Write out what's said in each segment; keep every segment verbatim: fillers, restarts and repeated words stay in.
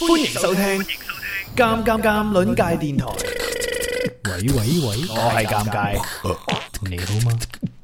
歡迎收聽《尷尷尷》鄰界電台。 喂喂喂， 我係尷尬， 你好嗎？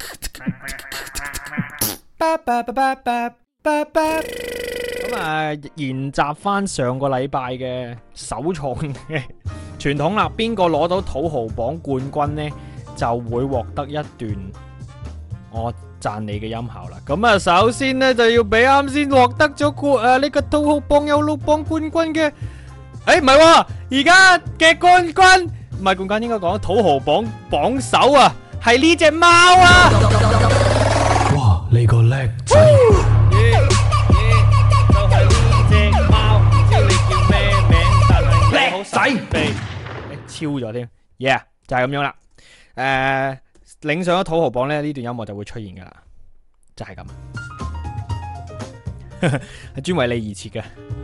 咁啊，延續翻上個禮拜嘅首創嘅傳統啦，邊個攞到土豪榜冠軍呢，就會獲得一段我讚你嘅音效啦。咁啊，首先呢，就要俾啱先獲得咗冠誒呢個土豪榜有路榜冠軍嘅，誒唔係喎，而家嘅冠軍唔係冠軍，應該講土豪榜榜首啊，係呢隻貓啊！ 哇，你個叻仔！ 叻仔，被超咗添 ，yeah 就係咁樣啦。誒、呃，領上咗土豪榜咧，呢段音樂就會出現噶啦，就係、是、咁，係專為你而設嘅。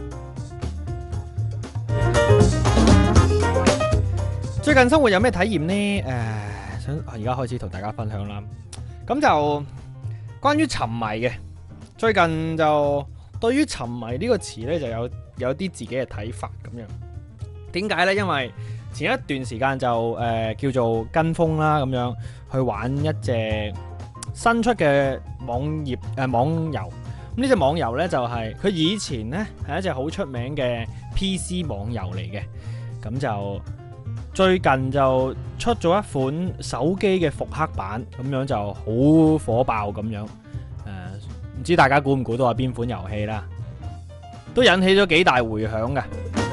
最近生活有咩體驗呢？誒、呃，想而家開始同大家分享啦。咁就關於沉迷嘅，最近就對於沉迷呢個詞咧，就有有啲自己嘅睇法咁樣。點解呢？因為前一段時間就誒、呃、叫做跟風啦，咁樣去玩一隻新出嘅網頁誒、呃、網遊。咁呢隻網遊呢，就係、是、佢以前呢係一隻好出名嘅 P C 網遊嚟嘅。咁就最近就出咗一款手機嘅復刻版，咁樣就好火爆咁樣。誒、呃，唔知大家估唔估到係邊款遊戲啦？都引起咗幾大迴響嘅。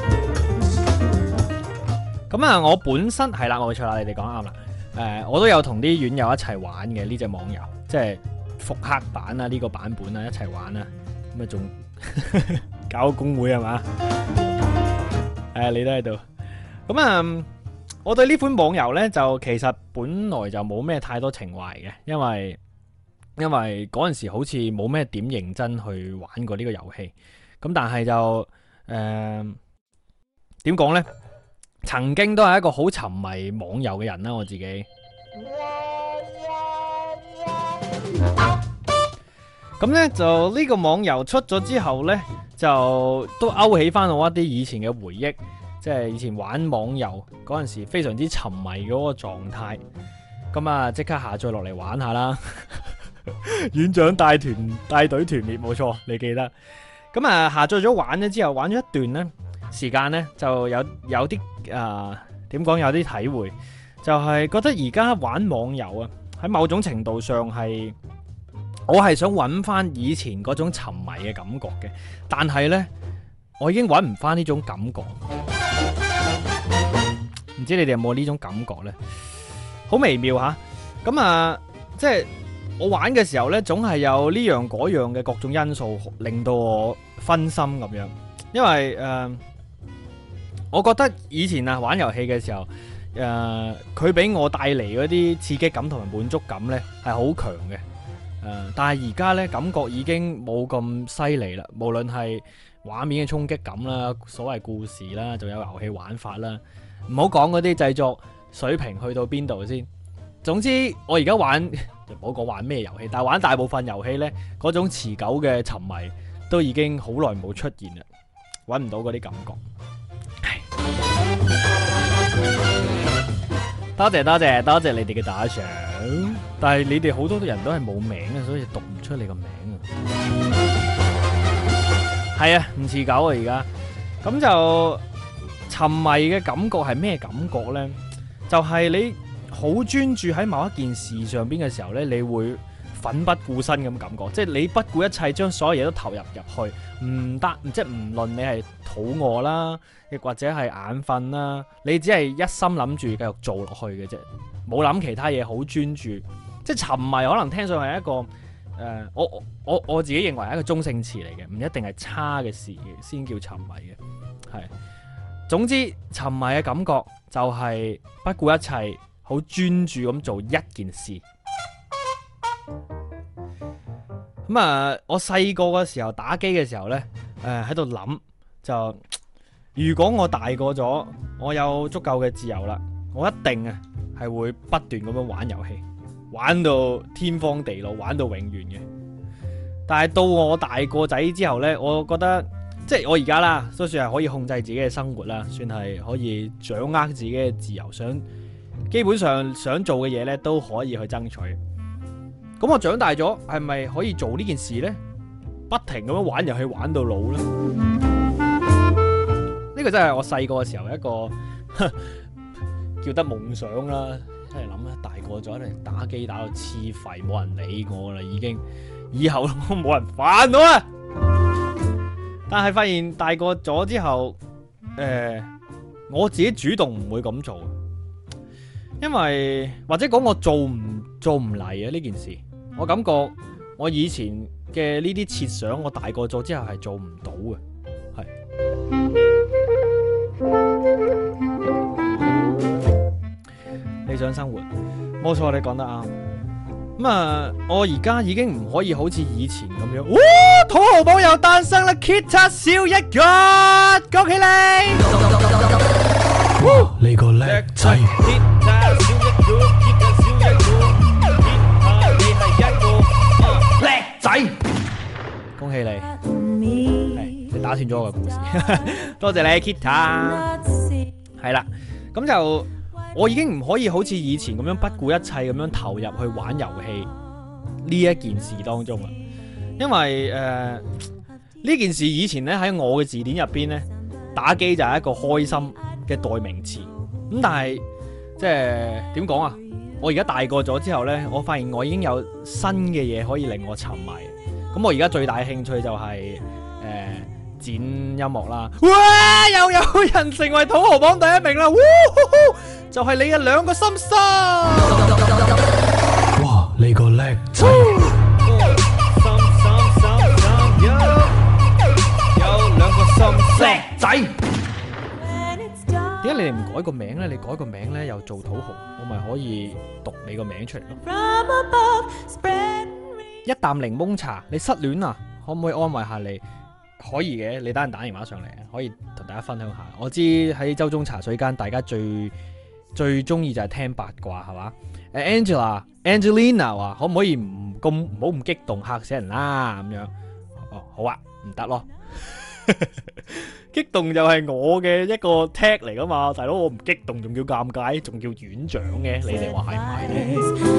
咁啊，我本身係啦，冇錯啦，你哋講啱啦。誒、呃，我都有同啲院友一齊玩嘅呢隻網遊，即係復刻版啊，呢、這個版本啊，一齊玩啊。咁啊，仲搞公會係嘛？誒、啊，你都喺度。咁啊，我對呢款網遊呢，就其實本來就冇咩太多情懷嘅，因為因為嗰陣時好似冇咩點認真去玩過呢個遊戲。咁但係就誒點講呢？曾經都係一個好沉迷網遊嘅人啦，我自己。咁呢，就呢個網遊出咗之後呢，就都勾起翻我一啲以前嘅回憶，即係以前玩網遊嗰陣時非常之沉迷嗰個狀態。咁啊，即刻下載落嚟玩下啦！院長帶團帶隊團滅，冇錯，你記得。咁啊，下載咗玩咗之後，玩咗一段呢時間呢，就有有啲誒點講，有啲體會，就係、是、覺得而家玩網遊啊，喺某種程度上係我係想揾翻以前嗰種沉迷嘅感覺嘅，但係呢，我已經揾唔翻呢種感覺，唔知你哋有冇呢種感覺呢？好微妙吓，咁啊，即係我玩嘅時候呢，總係有呢樣嗰樣嘅各種因素令到我分心咁樣，因為誒。呃我覺得以前啊玩遊戲嘅時候，誒佢俾我帶嚟嗰啲刺激感同埋滿足感呢係好強嘅，誒、呃、但係而家呢，感覺已經冇咁犀利啦，無論係畫面嘅衝擊感啦，所謂故事啦，仲有遊戲玩法啦，唔好講嗰啲製作水平去到邊度先。總之我而家玩就唔好講玩咩遊戲，但係玩大部分遊戲呢，嗰種持久嘅沉迷都已經好耐冇出現啦，揾唔到嗰啲感覺。多謝多謝多謝你哋嘅打賞，但係你哋好多人都係冇名啊，所以讀唔出你個名啊。係啊，唔持久啊而家。咁就沉迷嘅感覺係咩感覺呢？就係、是、你好專注喺某一件事上邊嘅時候呢，你會奮不顧身咁感覺，即係你不顧一切將所有嘢都投入入去，唔得，即係唔論你係肚餓啦，亦或者係眼瞓啦，你只係一心諗住繼續做落去嘅啫，冇諗其他嘢，好專注。即係沉迷可能聽上係一個誒、呃，我我我自己認為係一個中性詞嚟嘅，唔一定係差嘅事先叫沉迷嘅。係，總之沉迷嘅感覺就係不顧一切，好專注咁做一件事。咁啊，我細個嘅時候打機嘅時候呢，誒喺度諗就，如果我大個咗，我有足夠嘅自由啦，我一定啊係會不斷咁樣玩遊戲，玩到天荒地老，玩到永遠嘅。但係到我大個仔之後呢，我覺得即係我而家啦，都算係可以控制自己嘅生活啦，算係可以掌握自己嘅自由，想基本上想做嘅嘢咧都可以去爭取。咁我長大咗，係咪可以做呢件事呢？不停咁樣玩遊戲玩到老呢？呢個真係我細個嘅時候一個叫得夢想啦。真係諗啦，大個咗一定打機打到黐廢，冇人理我啦，已經以後都冇人煩我啦。但係發現大個咗之後，誒、呃，我自己主動唔會咁做，因為或者講我做唔做唔嚟啊呢件事，我感覺我以前嘅呢啲設想，我大個咗之後係做唔到嘅，係。理想生活，冇錯，你講得啱。咁啊，我而家已經唔可以好似以前咁樣。哇！土豪榜又誕生啦 ，Kita 少一個，恭喜你！ 哇！你個叻仔 ，Kita 少一個 ，Kita 少一個 ，Kita 你係一個叻仔，恭喜你！係你打斷咗我嘅故事，多謝你 Kita。係啦，咁就。我已經唔可以好似以前咁樣不顧一切咁樣投入去玩遊戲呢一件事當中啦，因為誒呢、呃、件事以前咧喺我嘅字典入邊咧，打機就係一個開心嘅代名詞。咁但係即係點講啊？我而家大個咗之後咧，我發現我已經有新嘅嘢可以令我沉迷。咁我而家最大嘅興趣就係、是、誒。呃剪音樂啦！哇，又有人成為土豪榜第一名啦！就係、是、你嘅兩個心心。 哇，你個叻仔！ 有兩個心叻仔。點解你哋唔改個名咧？你改個名咧又做土豪，我咪可以讀你個名出嚟咯。一啖檸檬茶，你失戀啊？可唔可以安慰下你？可以嘅，你等陣打電話上嚟，可以同大家分享下。我知喺周中茶水間，大家最最中意就係聽八卦，係嘛？誒 Angela、Angelina 話可唔可以唔咁唔好咁激動，嚇死人啦咁樣。哦，好啊，唔得咯。激動就係我嘅一個 tag 嚟噶嘛，大佬我唔激動仲叫尷尬，仲叫院長嘅，你哋話係唔係咧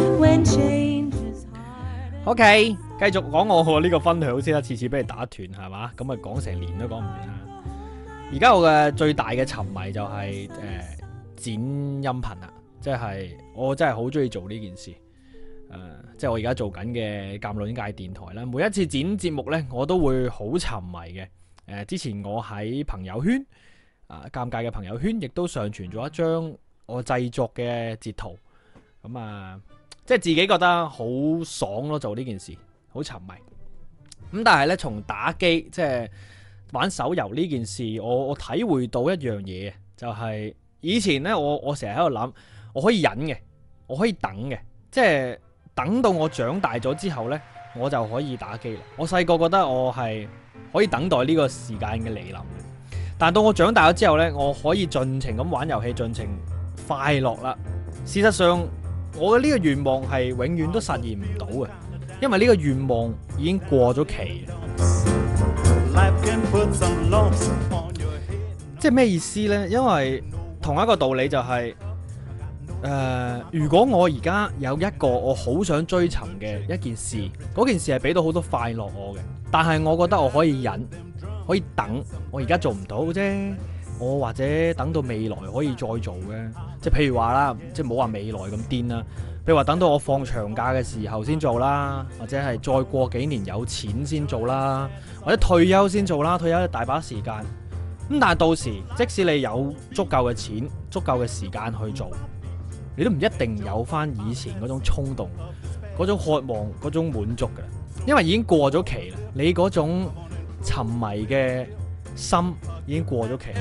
？OK，繼續講我呢個分享先啦，次次俾你打斷係嘛，咁啊講成年都講唔完啦。而家我嘅最大嘅沉迷就係、是、誒、呃、剪音頻啦，即係我真係好中意做呢件事。誒、呃，即係我而家做緊嘅鑑論界電台啦，每一次剪節目呢，我都會好沉迷嘅。誒、呃，之前我喺朋友圈啊，尷尬嘅朋友圈亦都上傳咗一張我製作嘅截圖，咁啊。即係自己覺得好爽咯，做呢件事好沉迷。咁但係呢，從打機即係玩手遊呢件事，我我體會到一樣嘢，就係、是、以前呢，我我成日喺度諗，我可以忍嘅，我可以等嘅，即係等到我長大咗之後呢，我就可以打機啦。我細個覺得我係可以等待呢個時間嘅嚟臨，但到我長大咗之後呢，我可以盡情咁玩遊戲，盡情快樂啦。事實上，我嘅呢個願望係永遠都實現唔到嘅，因為呢個願望已經過咗期。即係咩意思呢？因為同一個道理就係、是，誒、呃，如果我而家有一個我好想追尋嘅一件事，嗰件事係俾到好多快樂我嘅，但係我覺得我可以忍，可以等，我而家做唔到啫。我或者等到未來可以再做嘅，即係譬如話啦，即係冇話未來咁癲啦。譬如話等到我放長假嘅時候先做啦，或者係再過幾年有錢先做啦，或者退休先做啦。退休大把時間，咁但係到時即使你有足夠嘅錢、足夠嘅時間去做，你都唔一定有翻以前嗰種衝動、嗰種渴望、嗰種滿足嘅，因為已經過咗期啦。你嗰種沉迷嘅心已經過咗期，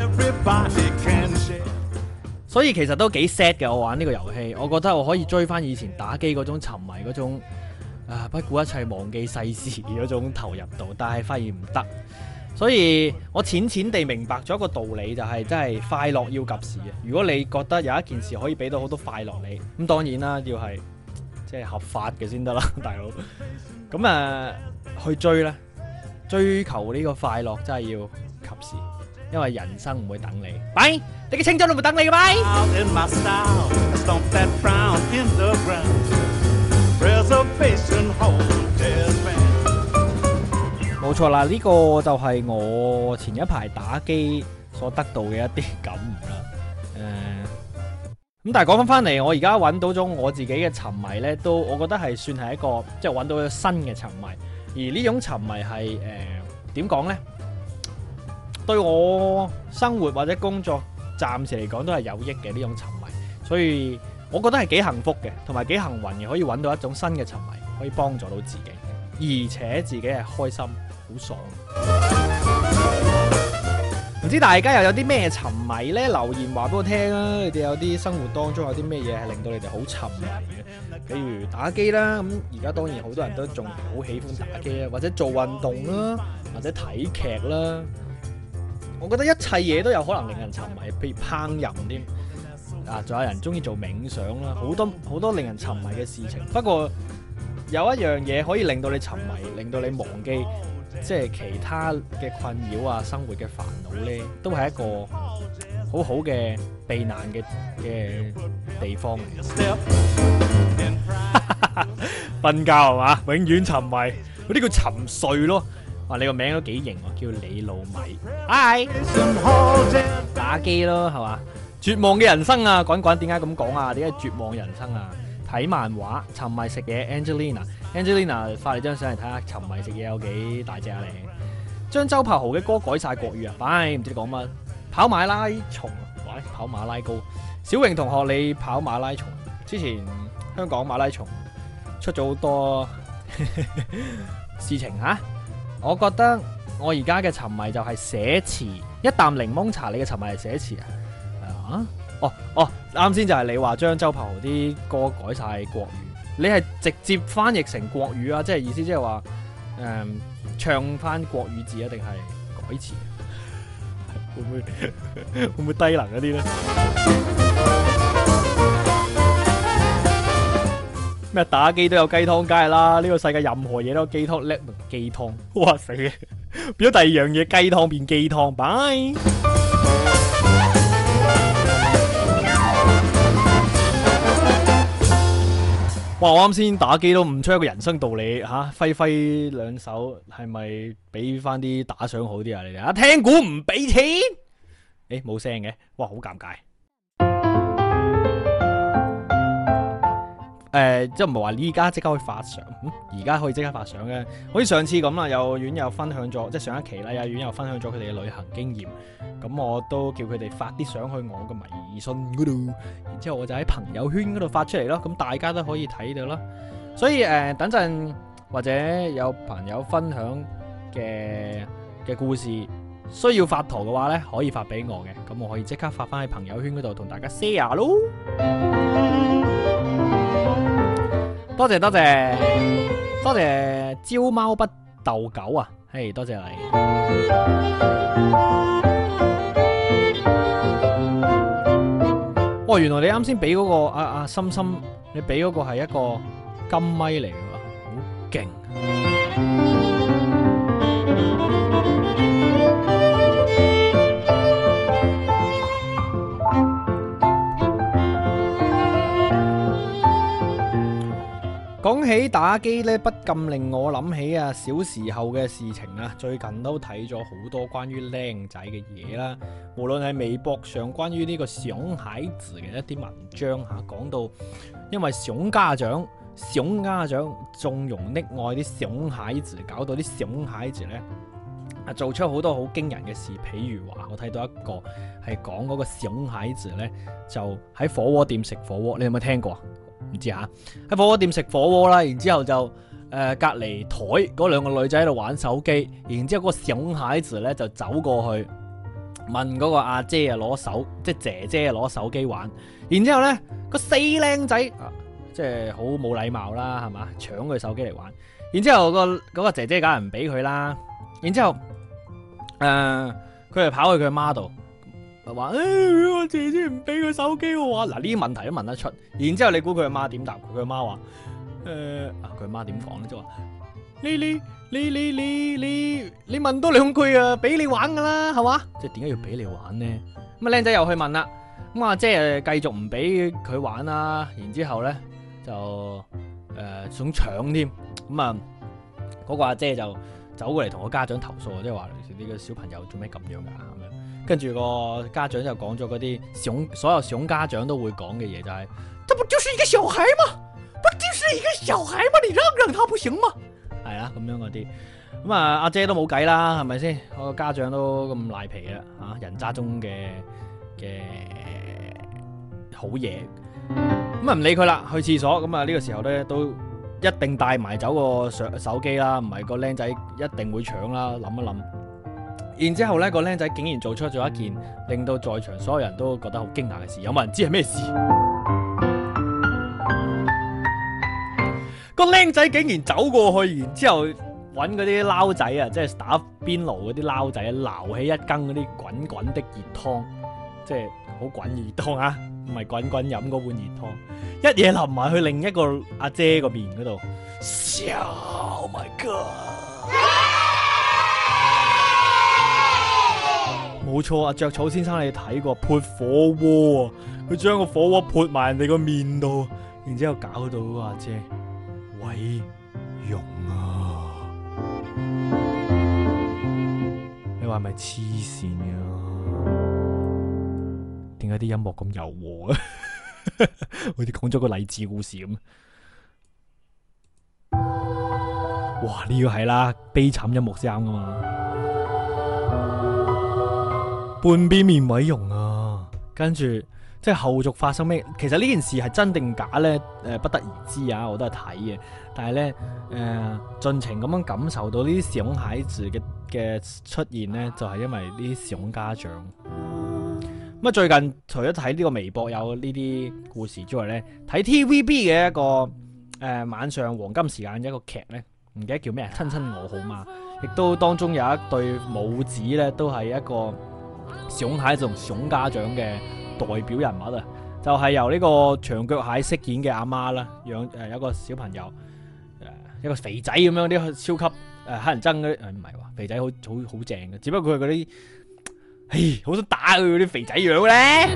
所以其實都幾 sad 嘅。我玩呢個遊戲，我覺得我可以追翻以前打機嗰種沉迷嗰種啊，不顧一切忘記世事嗰種投入度，但係發現唔得。所以我淺淺地明白咗一個道理，就係真係快樂要及時嘅。如果你覺得有一件事可以俾到好多快樂你，咁當然啦，要係即係合法嘅先得啦，大佬。咁啊，去追啦，追求呢個快樂真係要時，因為人生唔會等你。拜，你嘅青春都唔會等你嘅拜。 Out in my style, stomp that frown in the ground. Reservation hall, jazz band. 冇錯啦，呢、個就係我前一排打機所得到嘅一啲感悟啦。誒、咁但係講翻翻嚟，我而家揾到咗我自己嘅沉迷呢，都我覺得係算係一個即係揾到咗新嘅沉迷。而呢種沉迷係誒點講呢？對我生活或者工作暫時嚟講都係有益嘅呢種沉迷，所以我覺得係幾幸福嘅，同埋幾幸運嘅，可以揾到一種新嘅沉迷，可以幫助到自己，而且自己係開心，好爽。唔知大家又有啲咩沉迷呢？留言話俾我聽啊！你哋有啲生活當中有啲咩嘢係令到你哋好沉迷嘅？比如打機啦，咁而家當然好多人都仲好喜歡打機啦，或者做運動啦，或者睇劇啦。我覺得一切嘢都有可能令人沉迷，譬如烹飪添啊，仲有人中意做冥想啦，好多好多令人沉迷嘅事情。不過有一樣嘢可以令到你沉迷，令到你忘記即係其他嘅困擾啊，生活嘅煩惱呢，都係一個好好嘅避難嘅嘅地方嚟。瞓覺係嘛，永遠沉迷，嗰啲叫沉睡咯。哇！你個名都幾型喎，叫李老米。Hi， 打機咯，係嘛？絕望嘅人生啊，滾滾點解咁講啊？點解絕望人生啊？睇漫畫，沉迷食嘢。Angelina，Angelina 發你張相嚟睇下，沉迷食嘢有幾大隻啊你？將周柏豪嘅歌改晒國語啊！唉，唔知你講乜？跑馬拉松，喂，跑馬拉高。小榮同學，你跑馬拉松？之前香港馬拉松出咗好多事情吓。我覺得我而家嘅沉迷就係寫詞，一啖檸檬茶。你嘅沉迷係寫詞啊？啊？哦哦，啱先就係你話將周柏豪啲歌改晒國語，你係直接翻譯成國語啊？即係意思即係話誒唱翻國語字啊，定係改詞？會唔會會唔會低能嗰啲咧？咩打機都有雞湯，梗係啦！呢個世界任何嘢都有雞湯，叻雞湯，哇死嘅，變咗第二樣嘢，雞湯變雞湯，拜。哇！我啱先打機都悟出一個人生道理吓，揮揮兩手係咪俾翻啲打賞好啲啊？你哋啊，聽股唔俾錢，誒冇聲嘅，哇好尷尬。誒、呃，即係唔係話呢家即刻可以發相，而、嗯、家可以即刻發相嘅，好似上次咁啦，有院友分享咗，即係上一期啦，有院友分享咗佢哋嘅旅行經驗，咁我都叫佢哋發啲相去我嘅微信嗰度，然之後我就喺朋友圈嗰度發出嚟咯，咁大家都可以睇到啦。所以誒、呃，等陣或者有朋友分享嘅嘅故事需要發圖嘅話呢，可以發俾我嘅，咁我可以即刻發翻喺朋友圈嗰度同大家 share 咯。多謝多謝多謝招貓不鬥狗啊！嘿，多謝你。哦，原來你啱先俾嗰個阿阿心心，你俾嗰個係一個金咪嚟嘅，好勁。講起打機呢，不禁令我諗起啊小時候嘅事情啊。最近都睇咗好多關於靚仔嘅嘢啦，無論係微博上關於呢個熊孩子嘅一啲文章吓，講到因為熊家長熊家長縱容溺愛啲熊孩子，搞到啲熊孩子呢啊做出好多好驚人嘅事。譬如話我睇到一個係講嗰個熊孩子呢，就喺火鍋店食火鍋，你有冇聽過啊？唔知吓，喺火鍋店食火鍋啦，然之後就誒、呃、隔籬台嗰兩個女仔喺度玩手機，然之後嗰個熊孩子咧就走過去問嗰個阿姐啊攞手，即係姐姐啊攞手機玩，然之後咧個死靚仔啊，即係好冇禮貌啦，係嘛，搶佢手機嚟玩，然之後、嗰個嗰、嗰個姐姐梗係唔俾佢啦，然之後誒佢就跑去佢阿媽度。話誒、哎，我姐姐唔俾佢手機我話，嗱呢啲問題都問得出，然之後你估佢阿媽點答佢？佢阿媽話誒，啊佢阿媽點講咧？就話你你你你你你你問多兩句啊，俾你玩噶啦，係嘛？即係點解要俾你玩呢？咁啊，靚仔又去問啦。咁啊，姐誒繼續唔俾佢玩啦，然之後咧就誒、呃、想搶添。咁啊，嗰、嗰個阿姐就走過嚟同個家長投訴，即係話呢個小朋友做咩咁樣噶咁樣。跟住個家長就講咗嗰啲熊所有熊家長都會講嘅嘢，就係、是，這不就是一個小孩嗎？不就是一個小孩嗎？你讓讓他不行嗎？係啦，咁樣嗰啲，咁啊阿姐都冇計啦，係咪先？個家長都咁賴皮啦，吓人渣中嘅嘅好嘢，咁啊唔理佢啦，去廁所，咁啊呢個時候咧都一定帶埋走個手手機啦，唔係個僆仔一定會搶啦，諗一諗。然之後咧，個僆仔竟然做出咗一件令到在場所有人都覺得好驚訝嘅事，有冇人知係咩事？個僆仔竟然走過去，然之後揾嗰啲撈仔啊，即係打邊爐嗰啲撈仔，撈起一羹嗰啲滾滾的熱湯，即係好滾熱湯啊，唔係滾滾飲嗰碗熱湯，一嘢淋埋去另一個阿姐個面嗰度。Oh my god！冇錯啊，著草先生你睇過潑火鍋啊？佢將個火鍋潑埋人哋個面度，然之後搞到嗰個阿姐毀容啊！你話係咪黐線啊？點解啲音樂咁柔和啊？好似講咗個勵志故事咁。哇！呢個係啦，悲慘音樂先啱噶嘛。半邊面毀容啊！跟住即係後續發生咩？其實呢件事係真定假呢？誒、呃，不得而知啊！我都係睇嘅，但係呢，誒、呃，盡情咁樣感受到呢啲熊孩子嘅嘅出現呢，就係、是、因為呢啲熊家長。咁啊，最近除咗睇呢個微博有呢啲故事之外呢，睇 T V B 嘅一個誒、呃、晚上黃金時間一個劇呢，唔記得叫咩？親親我好嗎？亦都當中有一對母子呢，都係一個熊孩子同熊家長嘅代表人物啊，就係、是、由呢個長腳蟹飾演嘅阿媽啦，養誒有一個小朋友，誒、呃、一個肥仔咁樣啲超級誒乞、呃、人憎嗰啲，誒唔係喎，肥仔好好好正嘅，只不過佢係嗰啲，嘿好想打佢嗰啲肥仔樣咧，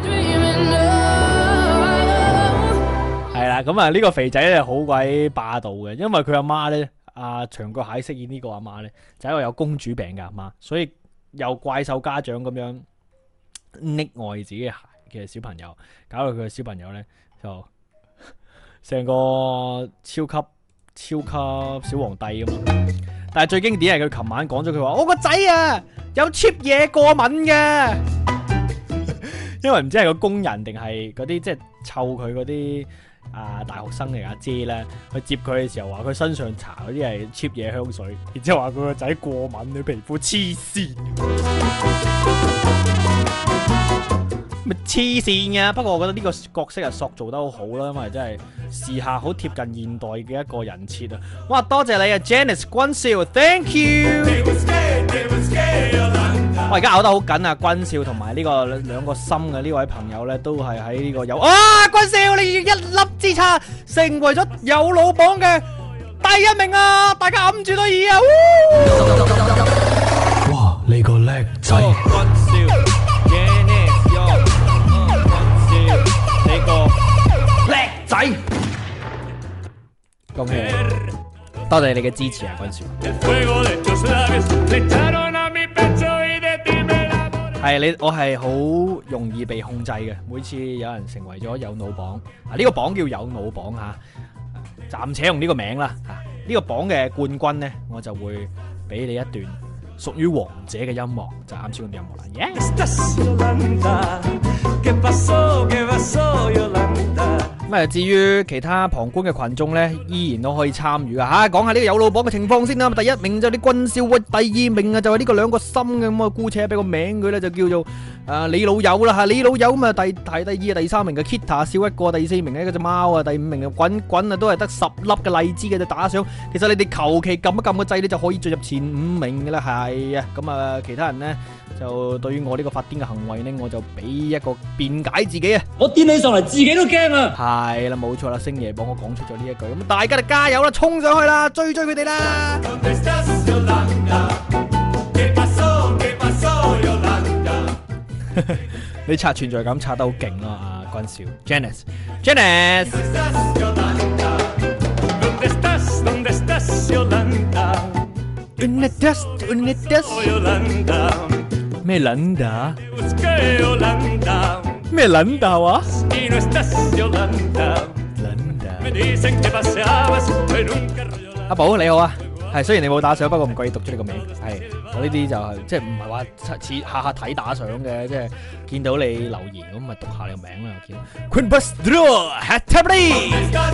係啦，咁啊呢個肥仔咧好鬼霸道嘅，因為佢阿媽咧，阿長腳蟹飾演呢個阿媽咧，就係、一個有公主病嘅阿媽，所以有怪獸家長咁樣溺愛自己嘅小朋友，搞到佢嘅小朋友咧就成個超級超級小皇帝咁咯。但係最經典係佢琴晚講咗佢話：我個仔啊有 cheap 嘢過敏嘅，因為唔知係個工人定係嗰啲即係湊佢嗰啲啊大學生嚟阿姐咧，去接佢嘅時候話佢身上搽嗰啲係 cheap 嘢香水，然之後話佢個仔過敏，佢皮膚黐線。咪黐線啊！不過我覺得呢個角色啊塑造得好好啦，因為真係時下好貼近現代嘅一個人設啊！哇，多謝你啊 ，Janice 君少 ，Thank you。我而家咬得好緊啊，君少同埋呢個兩個心嘅呢位朋友咧，都係喺呢個有啊，君少你一粒之差，成為咗有老榜嘅第一名啊！大家揞住對耳啊！ 哇，你個叻仔！ 叻仔，恭喜你！多謝你嘅支持啊，君少。係你，我係好容易被控制嘅。每次有人成為咗有腦榜，啊呢、這個榜叫有腦榜吓，暫且用呢個名啦吓。呢、這個榜嘅冠軍呢，我就會俾你一段屬於王者嘅音樂，就啱先嗰啲音樂啦。耶、yeah! 咁啊，至於其他旁觀嘅群眾咧，依然都可以參與啊！吓，講下呢個有腦榜嘅情況先啦。第一名就係啲軍少，喂，第二名啊就係呢個兩個心嘅咁啊，姑且俾個名佢咧，就叫做誒你老友啦嚇，你老友咁啊第排第二啊第三名嘅 Kita 少一個，第四名呢嗰隻貓啊，第五名嘅滾滾啊都係得十粒嘅荔枝嘅就打賞。其實你哋求其撳一撳個掣，你就可以進入前五名嘅啦，係啊。咁啊其他人呢，就對於我呢個發癲嘅行為呢，我就俾一個辯解自己啊。 我癲起上嚟自己都驚啊！ 係啦，冇錯啦，星爺幫我講出咗呢一句，咁大家就加油啦，衝上去啦，追追佢哋啦！你刷存在感刷得好勁咯，阿君少 ，Janice，Janice。咩撚打？咩撚打啊？阿寶你好啊，係雖然你冇打賞，不過唔怪你讀出你個名。係我呢啲就係即係唔係話似下下睇打賞嘅，即係見到你留言咁咪讀下你個名啦。見 Queen Bustro Hatabli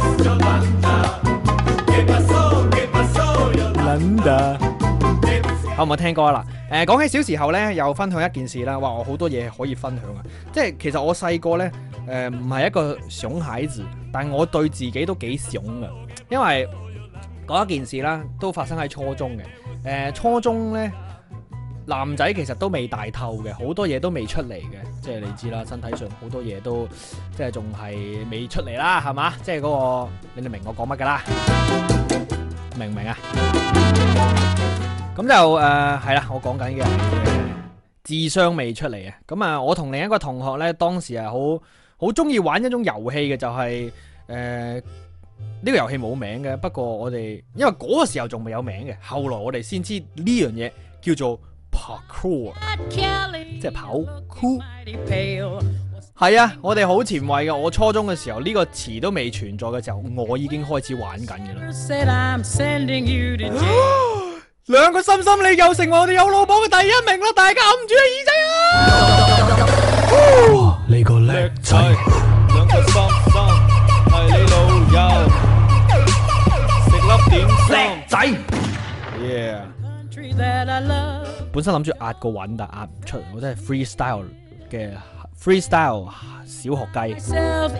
Landa， 好唔好聽歌啊？嗱，誒講起小時候咧，又分享一件事啦。哇，我好多嘢可以分享啊！即係其實我細個咧，誒唔係一個熊孩子，但係我對自己都幾熊噶，因為嗰一件事啦，都發生喺初中嘅。誒、呃、初中咧，男仔其實都未大透嘅，好多嘢都未出嚟嘅。即係你知啦，身體上好多嘢都即係仲係未出嚟啦，係嘛？即係嗰、嗰個你哋明我講乜㗎啦？明唔明啊？咁就誒係啦，我講緊嘅智商未出嚟啊！咁啊，我同另一個同學咧，當時係好好中意玩一種遊戲嘅，就係誒呢個遊戲冇名嘅。不過我哋因為嗰個時候仲未有名嘅，後來我哋先知呢樣嘢叫做 parkour， 即係跑酷。係啊，我哋好前衛嘅。我初中嘅時候呢個詞都未存在嘅時候，我已經開始玩緊嘅啦。兩個心心你又成為我哋有老榜嘅第一名啦！大家揞住個耳仔啊！哇，你個叻仔，兩個心心係你老友，食粒點心仔。Yeah， 本身諗住壓個韻，但壓唔出，我真係 freestyle 嘅 freestyle 小學雞。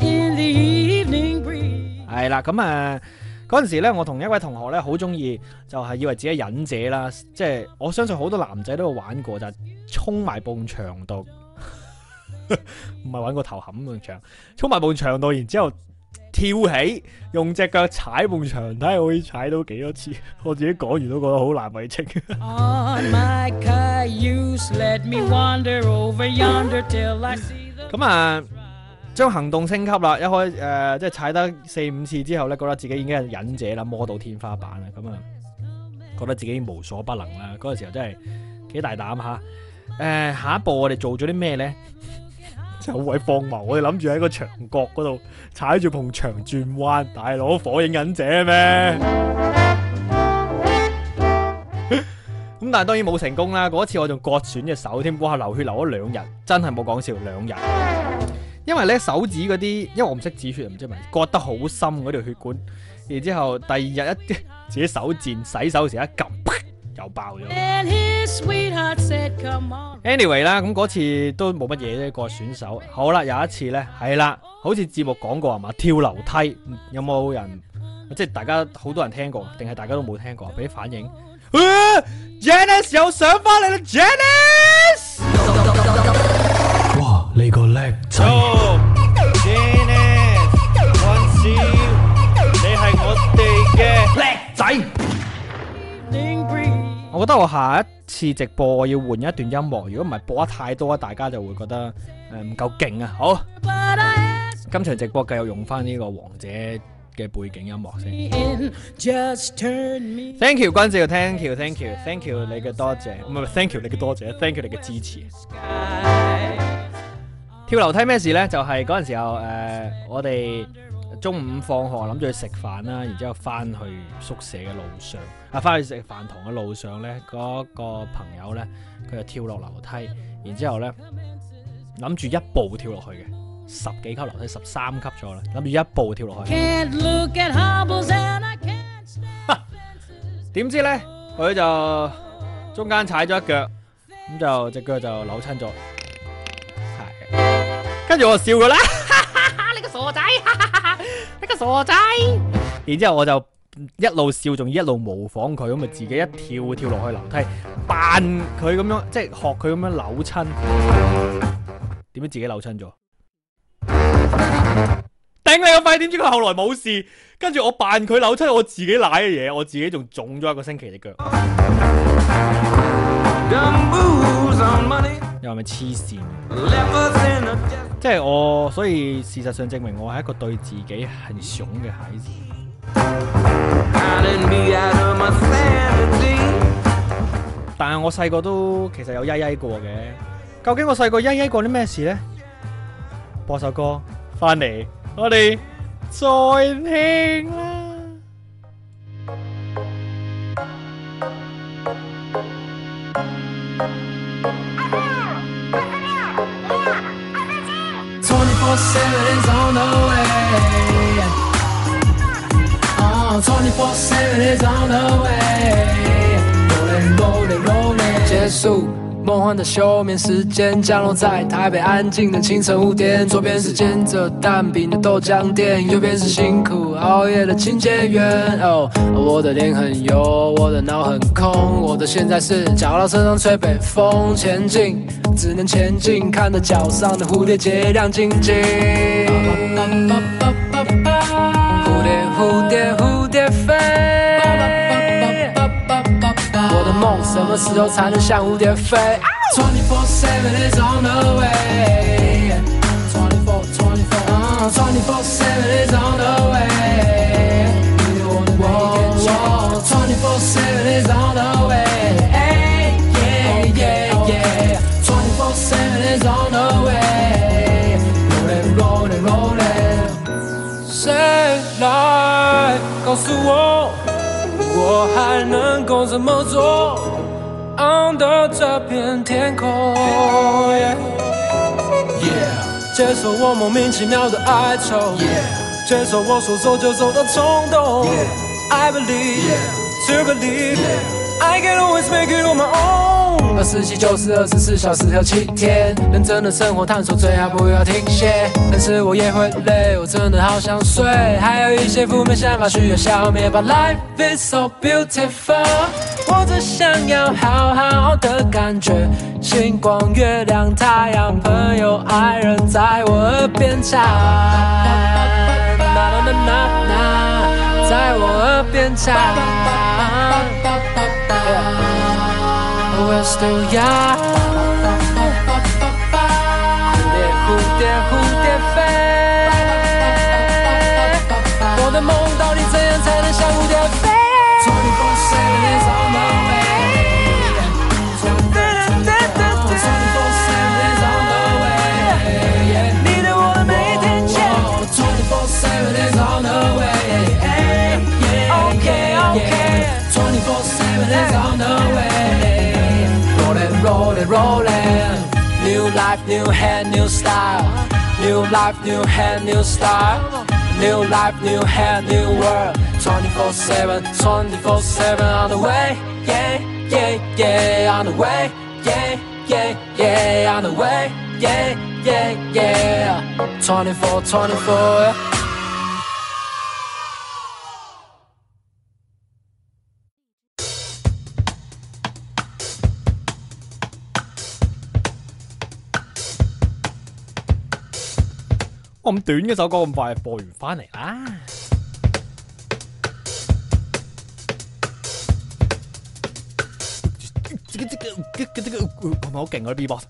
係啦，咁啊。嗰陣時咧，我同一位同學咧好中意，就係以為自己係忍者啦，即係我相信好多男仔都有玩過，就係衝埋埲牆度，唔係玩個頭冚埲牆，衝埋埲牆度，然之後跳起，用隻腳踩埲牆，睇下可以踩到幾多次。我自己講完都覺得好難為情。咁啊〜將行動升級啦，一開誒、呃、即係踩得四五次之後咧，覺得自己已經係忍者啦，摸到天花板啦，咁啊覺得自己無所不能啦。嗰個時候真係幾大膽吓。誒、呃，下一步我哋做咗啲咩咧？就好鬼荒謬，我哋諗住喺個牆角嗰度踩住埲牆轉彎，大佬火影忍者咩？咁但係當然冇成功啦。嗰次我仲割損隻手添，哇流血流咗兩日，真係冇講笑，兩日。因為咧手指嗰啲，因為我唔識止血，唔知咪割得好深嗰條血管，然之後第二日一自己手賤洗手時一撳，又爆咗。Anyway 啦，咁嗰次都冇乜嘢啫，割損手。好啦，有一次咧，係啦，好似節目講過係嘛，跳樓梯，有冇人？即係大家好多人聽過，定係大家都冇聽過？俾啲反應。啊、Janice 又上翻嚟啦 ，Janice！哇，你個叻仔 ！Janice，安少，你係我哋嘅叻仔。我覺得我下一次直播我要換一段音樂，如果唔係播得太多，大家就會覺得誒唔夠勁啊！好，今場直播繼續用翻呢個王者嘅背景音樂先。Thank you 君少 ，Thank you，Thank you，Thank you 你嘅多謝，唔係 Thank you 你嘅多謝 ，Thank you 你嘅支持。跳樓梯咩事呢？就係嗰陣時候誒、呃，我哋中午放學諗住去食飯啦，然之後翻去宿舍嘅路上，啊翻去食飯堂嘅路上呢，嗰、那個朋友呢，佢就跳落樓梯，然之後呢諗住一步跳落去嘅。十幾級樓梯，十三級咗啦，諗住一步跳落去。點知咧，佢就中間踩咗一腳，咁就隻腳就扭親咗。 跟住我就笑佢啦，你個傻仔，你個傻仔。然之後我就一路笑，仲要一路模仿佢，咁咪自己一跳跳落去樓梯，扮佢咁樣，即係學佢咁樣扭親。點知自己扭親咗？頂你個肺！點知佢後來冇事？跟住我扮佢扭親，我自己舐嘅嘢，我自己仲腫咗一個星期隻腳。又係咪黐線？即係我，所以事實上證明我係一個對自己很熊嘅孩子。但係我細個都其實有曳曳過嘅。究竟我細個曳曳過啲咩事呢？播首歌翻嚟，我哋再聽啦。 twenty-four seven is on the way. Oh, twenty-four seven is on the way. Rolling, rolling, rolling. 结束梦幻的休眠时间，降落在台北安静的清晨五点。左边是煎着蛋饼的豆浆店，右边是辛苦熬夜的清洁员。哦，我的脸很油，我的脑很空，我的现在是脚到车上吹北风前进，只能前进，看着脚上的蝴蝶结亮晶晶。蝴蝶蝴蝶蝴蝶飞，我的梦什么时候才能像蝴蝶飞 ？twenty-four seven is on the way. twenty-four, twenty-four, uh, twenty-four seven is on the way. Whoa, twenty-four seven is on the way. Hey, yeah, yeah, yeah. twenty-four seven is on the way. Rolling, rolling, rolling. 谁来告诉我？我还能够怎么做 ？Under 这片天空 ，yeah, yeah， 接受我莫名其妙的哀愁 ，yeah， 接受我说走就走的冲动 ，yeah， I believe, yeah, to believe, yeah, I can always make it on my own。二十七就是二十四小时有七天，认真的生活探索，最好不要停歇。但是我也会累，我真的好想睡，还有一些负面想法需要消灭。But life is so beautiful， 我只想要好好的感觉，星光、月亮、太阳、朋友、爱人在我耳边唱，啦啦啦啦啦，在我耳边唱。我 still young， 蝴蝶蝴蝶蝴蝶飞，我的梦到底怎样才能像蝴蝶飞 ？twenty-four seven is on the way。twenty-four seven is on the way。你对我的每一天见 ，twenty-four seven is on the way。Okay okay。twenty-four seven is on the way。Rolling, rolling, new life, new hand, new style. New life, new hand, new style. New life, new hand, new world. twenty-four seven, twenty-four seven on the way. Yeah, yeah, yeah, on the way. Yeah, yeah, yeah, on the way. Yeah, yeah, yeah. twenty-four, twenty-four. 我咁短嘅首歌咁快播完翻嚟啦，係咪好勁嗰啲 B-box？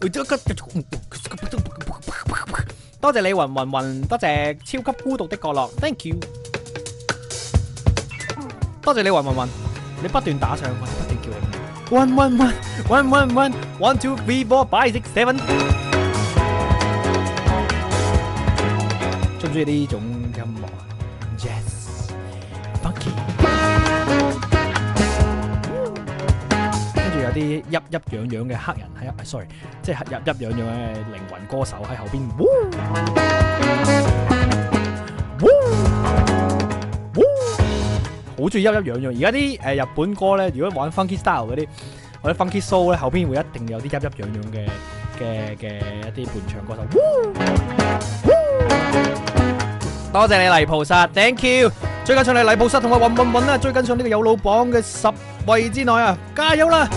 多謝你雲雲雲，多謝超級孤獨的角落 ，thank you。多謝你雲雲雲，你不斷打上，我不斷叫你。One one one one one one one two three four five six seven。中唔中意呢種音樂啊 ？Yes，funky。跟住有啲鬱鬱癢癢嘅黑人喺 ，sorry， 即係鬱鬱癢癢嘅靈魂歌手喺後邊。好中意鬱鬱癢癢。而家啲誒日本歌咧，如果玩 funky style 嗰啲或者 funky soul 咧，後邊會一定有啲鬱鬱癢癢嘅嘅嘅一啲伴唱歌手。多謝你泥菩薩 ，thank you。最近上嚟泥菩薩同我揾揾揾啦，追緊上呢個有老榜嘅十位之內啊，加油啦！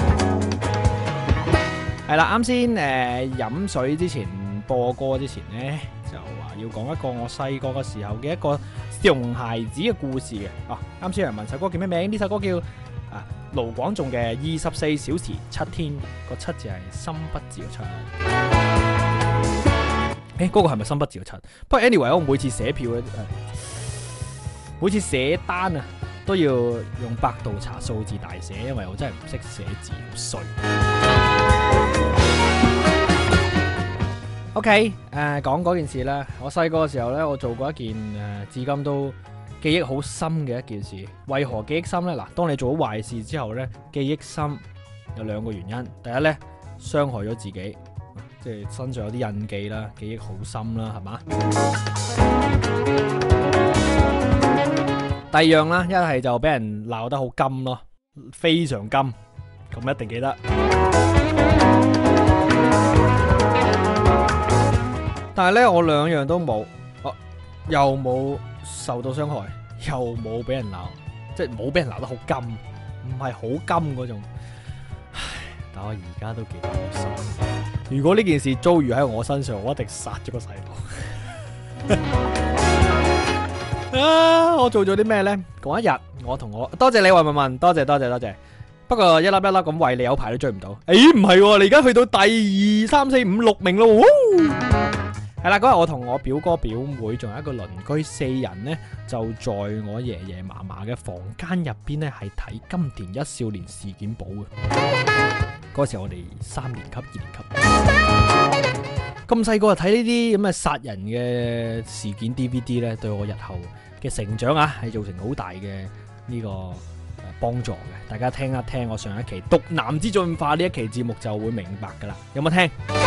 係啦，啱先誒飲水之前播歌之前呢，就話要講一個我細個嘅時候嘅一個熊孩子嘅故事嘅。啊，啱先有人問首歌叫咩名？呢首歌叫啊盧廣仲嘅《二十四小時七天》，個七字係心不字嘅七。誒，嗰個係咪心不字嘅七？不過 anyway，我每次寫票咧，每次寫單啊，都要用百度查數字大寫，因為我真係唔識寫字，好衰。OK，誒講嗰件事啦。我細個嘅時候咧，我做過一件誒、呃，至今都記憶好深嘅一件事。為何記憶深咧？嗱，當你做咗壞事之後咧，記憶深有兩個原因。第一咧，傷害咗自己，即係身上有啲印記啦，記憶好深啦，係嘛？第二樣啦，一係就俾人鬧得好金咯，非常金，咁一定記得。但係咧，我兩樣都冇，啊，又冇受到傷害，又冇俾人鬧，即係冇俾人鬧得好金，唔係好金嗰種。唉，但我而家都記得好深。如果呢件事遭遇喺我身上，我一定殺咗個細路。啊！我做咗啲咩呢？嗰一日，我同我多謝你話問問，多謝多謝多謝。不過一粒一粒咁為你有排都追唔到。誒，唔係，你而家去到第二三四五六名咯。係啦，嗰日我同我表哥表妹仲有一個鄰居四人呢，就在我爺爺嫲嫲嘅房間入邊呢，係睇《金田一少年事件簿》嘅。嗰時候我哋三年級、二年級，咁細個就睇呢啲咁嘅殺人嘅事件 D V D 呢，對我日後嘅成長啊，係造成好大嘅呢個幫助嘅。大家聽一聽我上一期《毒男之進化》呢一期節目就會明白噶啦。有冇聽？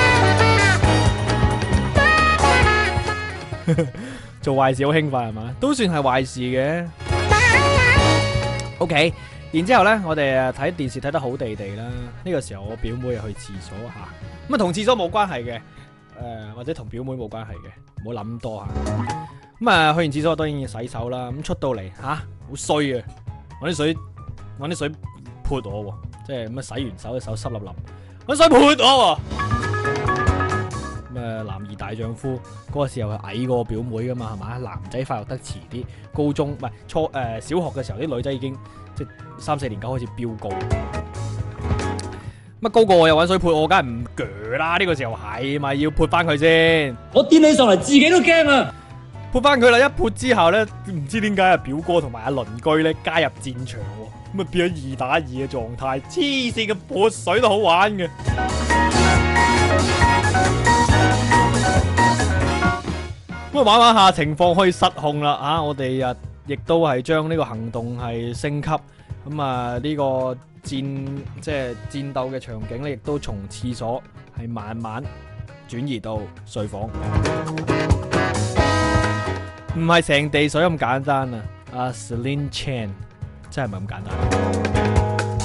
做壞事好興奮係嘛？都算係壞事嘅。OK， 然之後呢，我哋睇電視睇得好地地啦。呢個時候我表妹去廁所吓，咁啊同廁所冇關係嘅，誒、呃、或者同表妹冇關係嘅，唔好諗多吓。咁啊去完廁所當然要洗手啦。咁出到嚟吓，好衰啊！搵啲水，搵啲水潑我，即係咁啊洗完手，手濕粒粒，搵水潑我。誒，男兒大丈夫嗰個時候係矮過我表妹噶嘛，係嘛？男仔發育得遲啲，高中唔係初誒、呃、小學嘅時候，啲女仔已經即係三四年級開始飆高。乜高過我又搵水潑我，梗係唔鋸啦！呢、這個時候係咪要潑翻佢先？ 我癲起上嚟自己都驚啊！ 潑翻佢啦！一潑之後咧，唔知點解啊表哥同埋阿鄰居咧加入戰場，咁啊變咗二打二嘅狀態。黐線嘅潑水都好玩嘅。咁啊玩玩下情況可以失控啦啊！我哋啊亦都係將呢個行動係升級，咁啊呢個戰即係戰鬥嘅場景咧，亦都從廁所係慢慢轉移到睡房，唔係成地水咁簡單啊！阿 Celine Chan 真係唔係咁簡單，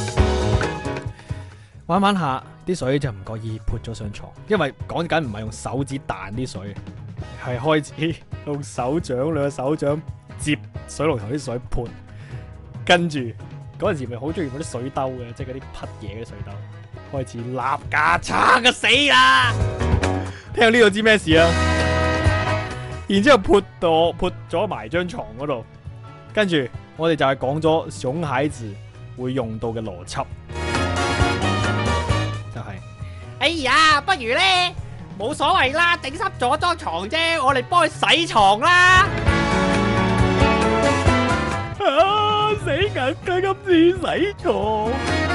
玩玩下啲水就唔覺意潑咗上床，因為講緊唔係用手指彈啲水。係開始用手掌兩個手掌接水龍頭啲水潑，跟住嗰陣時咪好中意嗰啲水兜嘅，即係嗰啲匹嘢嘅水兜，開始立架叉嘅死啦！聽到呢度知咩事啊？然之後潑到潑咗埋張床嗰度，跟住我哋就係講咗熊孩子會用到嘅邏輯，就係、是，哎呀，不如咧。冇所謂啦，整濕咗張床啫，我哋幫佢洗床啦。啊，死硬佢今次洗床，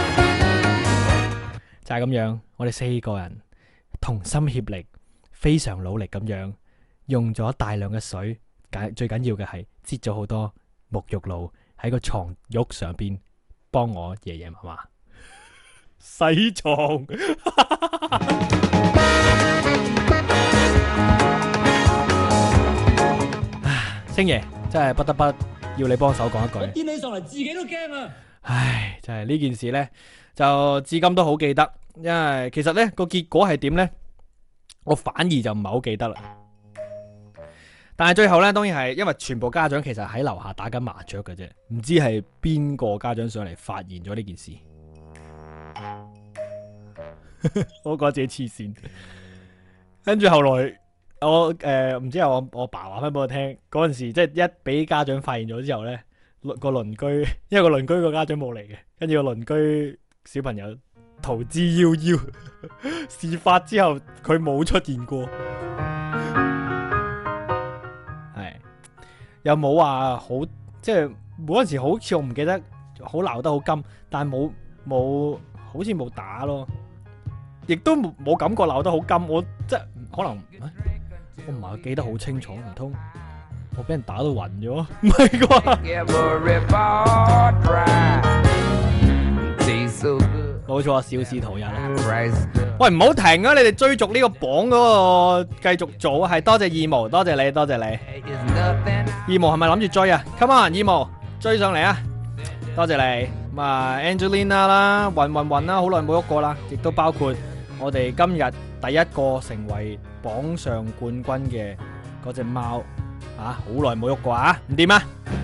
就係咁樣。我哋四個人同心協力，非常努力咁樣，用咗大量嘅水，最緊要嘅係擠咗好多沐浴露喺個床褥上邊，幫我爺爺嫲嫲洗床。星爺真係不得不要你幫手講一句， 我癲起上嚟自己都驚啊！ 唉，就係呢件事呢，就至今都好記得。 因為其實呢個結果係點呢？我反而就唔係好記得啦。但係最後呢，當然係因為全部家長其實喺樓下打緊麻雀嘅啫，唔知係邊個家長上嚟發現咗呢件事。我覺得自己黐線。跟住後來我誒唔知係我我爸話翻俾我聽，嗰陣時即係一俾家長發現咗之後呢，個鄰居因為個鄰居個家長冇嚟嘅，跟住個鄰居小朋友逃之夭夭。事發之後佢冇出現過。又冇話好，即係嗰陣時好似我唔記得，好鬧得好金，但係冇冇好似冇打咯，亦都冇冇感覺鬧得好金。我即係可能，我唔係記得好清楚，唔通我俾人打到暈咗？唔係啩？冇錯，肇事逃逸啦。喂，唔好停啊！你哋追逐呢個榜嗰個繼續做啊！係多謝二毛，多謝你，多謝你。二毛係咪諗住追啊 ？Come on，二毛追上嚟啊！多謝你。咁啊 ，Angelina 啦，雲雲雲啦，好耐冇喐過啦，亦都包括我哋今日第一個成為榜上冠軍嘅嗰隻貓啊，好耐冇喐過啊，唔掂啊！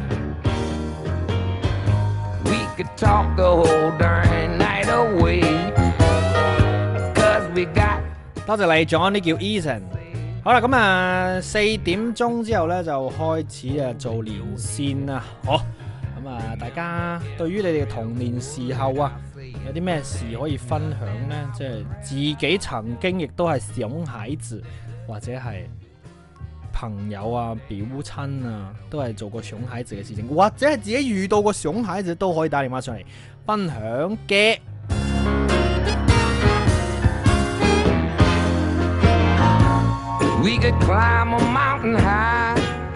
多謝你，仲有呢叫 Eason。好啦，咁啊四點鐘之後呢，就開始啊做連線啦。好，咁啊大家對於你哋嘅童年時候啊，有啲咩事可以分享呢？即係自己曾經亦都係熊孩子，或者係朋友啊、表親啊，都係做過熊孩子嘅事情，或者係自己遇到過熊孩子，都可以打電話上嚟分享嘅。We could climb a mountain high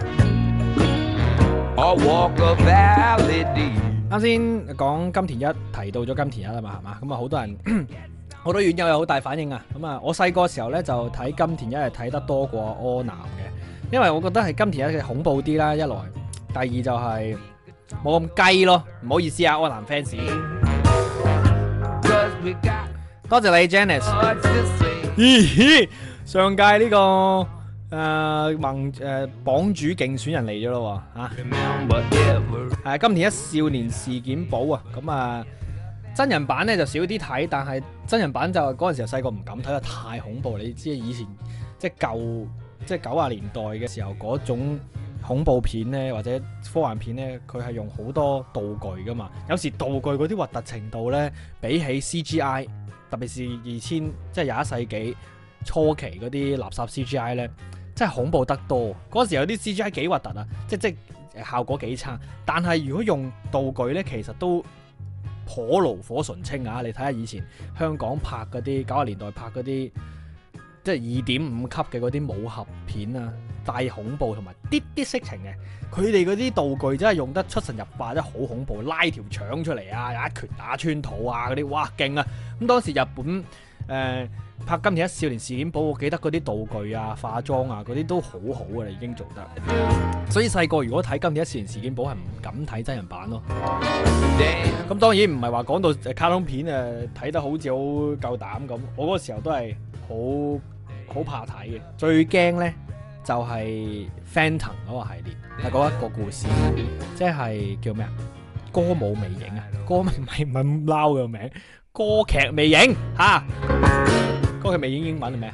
or walk a valley deep。啱先講金田一，提到咗金田一啦嘛，係嘛？咁啊，好多人好多院友有好大反應啊。咁啊，我細個時候咧就睇金田一係睇得多過柯南嘅，因為我覺得係金田一嘅恐怖啲啦，一來，第二就係冇咁雞咯。唔好意思啊，柯南 fans。多謝你 Janice。咦？上屆呢、這個誒、呃、盟誒、呃、榜主競選人嚟咗咯喎嚇，係、啊、金田一少年事件簿啊，咁啊真人版咧就少啲睇，但係真人版就嗰陣時候細個唔敢睇，得太恐怖。你知以前即係舊即係九十年代嘅時候嗰種恐怖片咧，或者科幻片咧，佢係用好多道具噶嘛，有時道具嗰啲核突程度咧，比起 C G I， 特別是二千即係廿一世紀初期嗰啲垃圾 C G I 咧，真係恐怖得多。嗰時有啲 C G I 幾核突啊，即即效果幾差。但係如果用道具咧，其實都頗爐火純青啊！你睇下以前香港拍嗰啲九十年代拍嗰啲，即係二點五級嘅嗰啲武俠片啊，帶恐怖同埋啲啲色情嘅，佢哋嗰啲道具真係用得出神入化，真係好恐怖，拉條腸出嚟啊，一拳打穿肚啊嗰啲，哇勁啊！咁當時日本誒、呃、拍金田一少年事件簿，我記得嗰啲道具啊、化妝啊嗰啲都好好嘅啦，已經做得。所以細個如果睇金田一少年事件簿係唔敢睇真人版咯。咁當然唔係話講到卡通片誒睇得好似好夠膽咁，我嗰個時候都係好好怕睇嘅。最驚咧就係 Phantom 嗰個系列，係嗰一個故事，即係叫咩啊？歌舞魅影啊，歌唔係唔係咁撈嘅名，歌劇魅影吓，歌劇魅影英文係咩？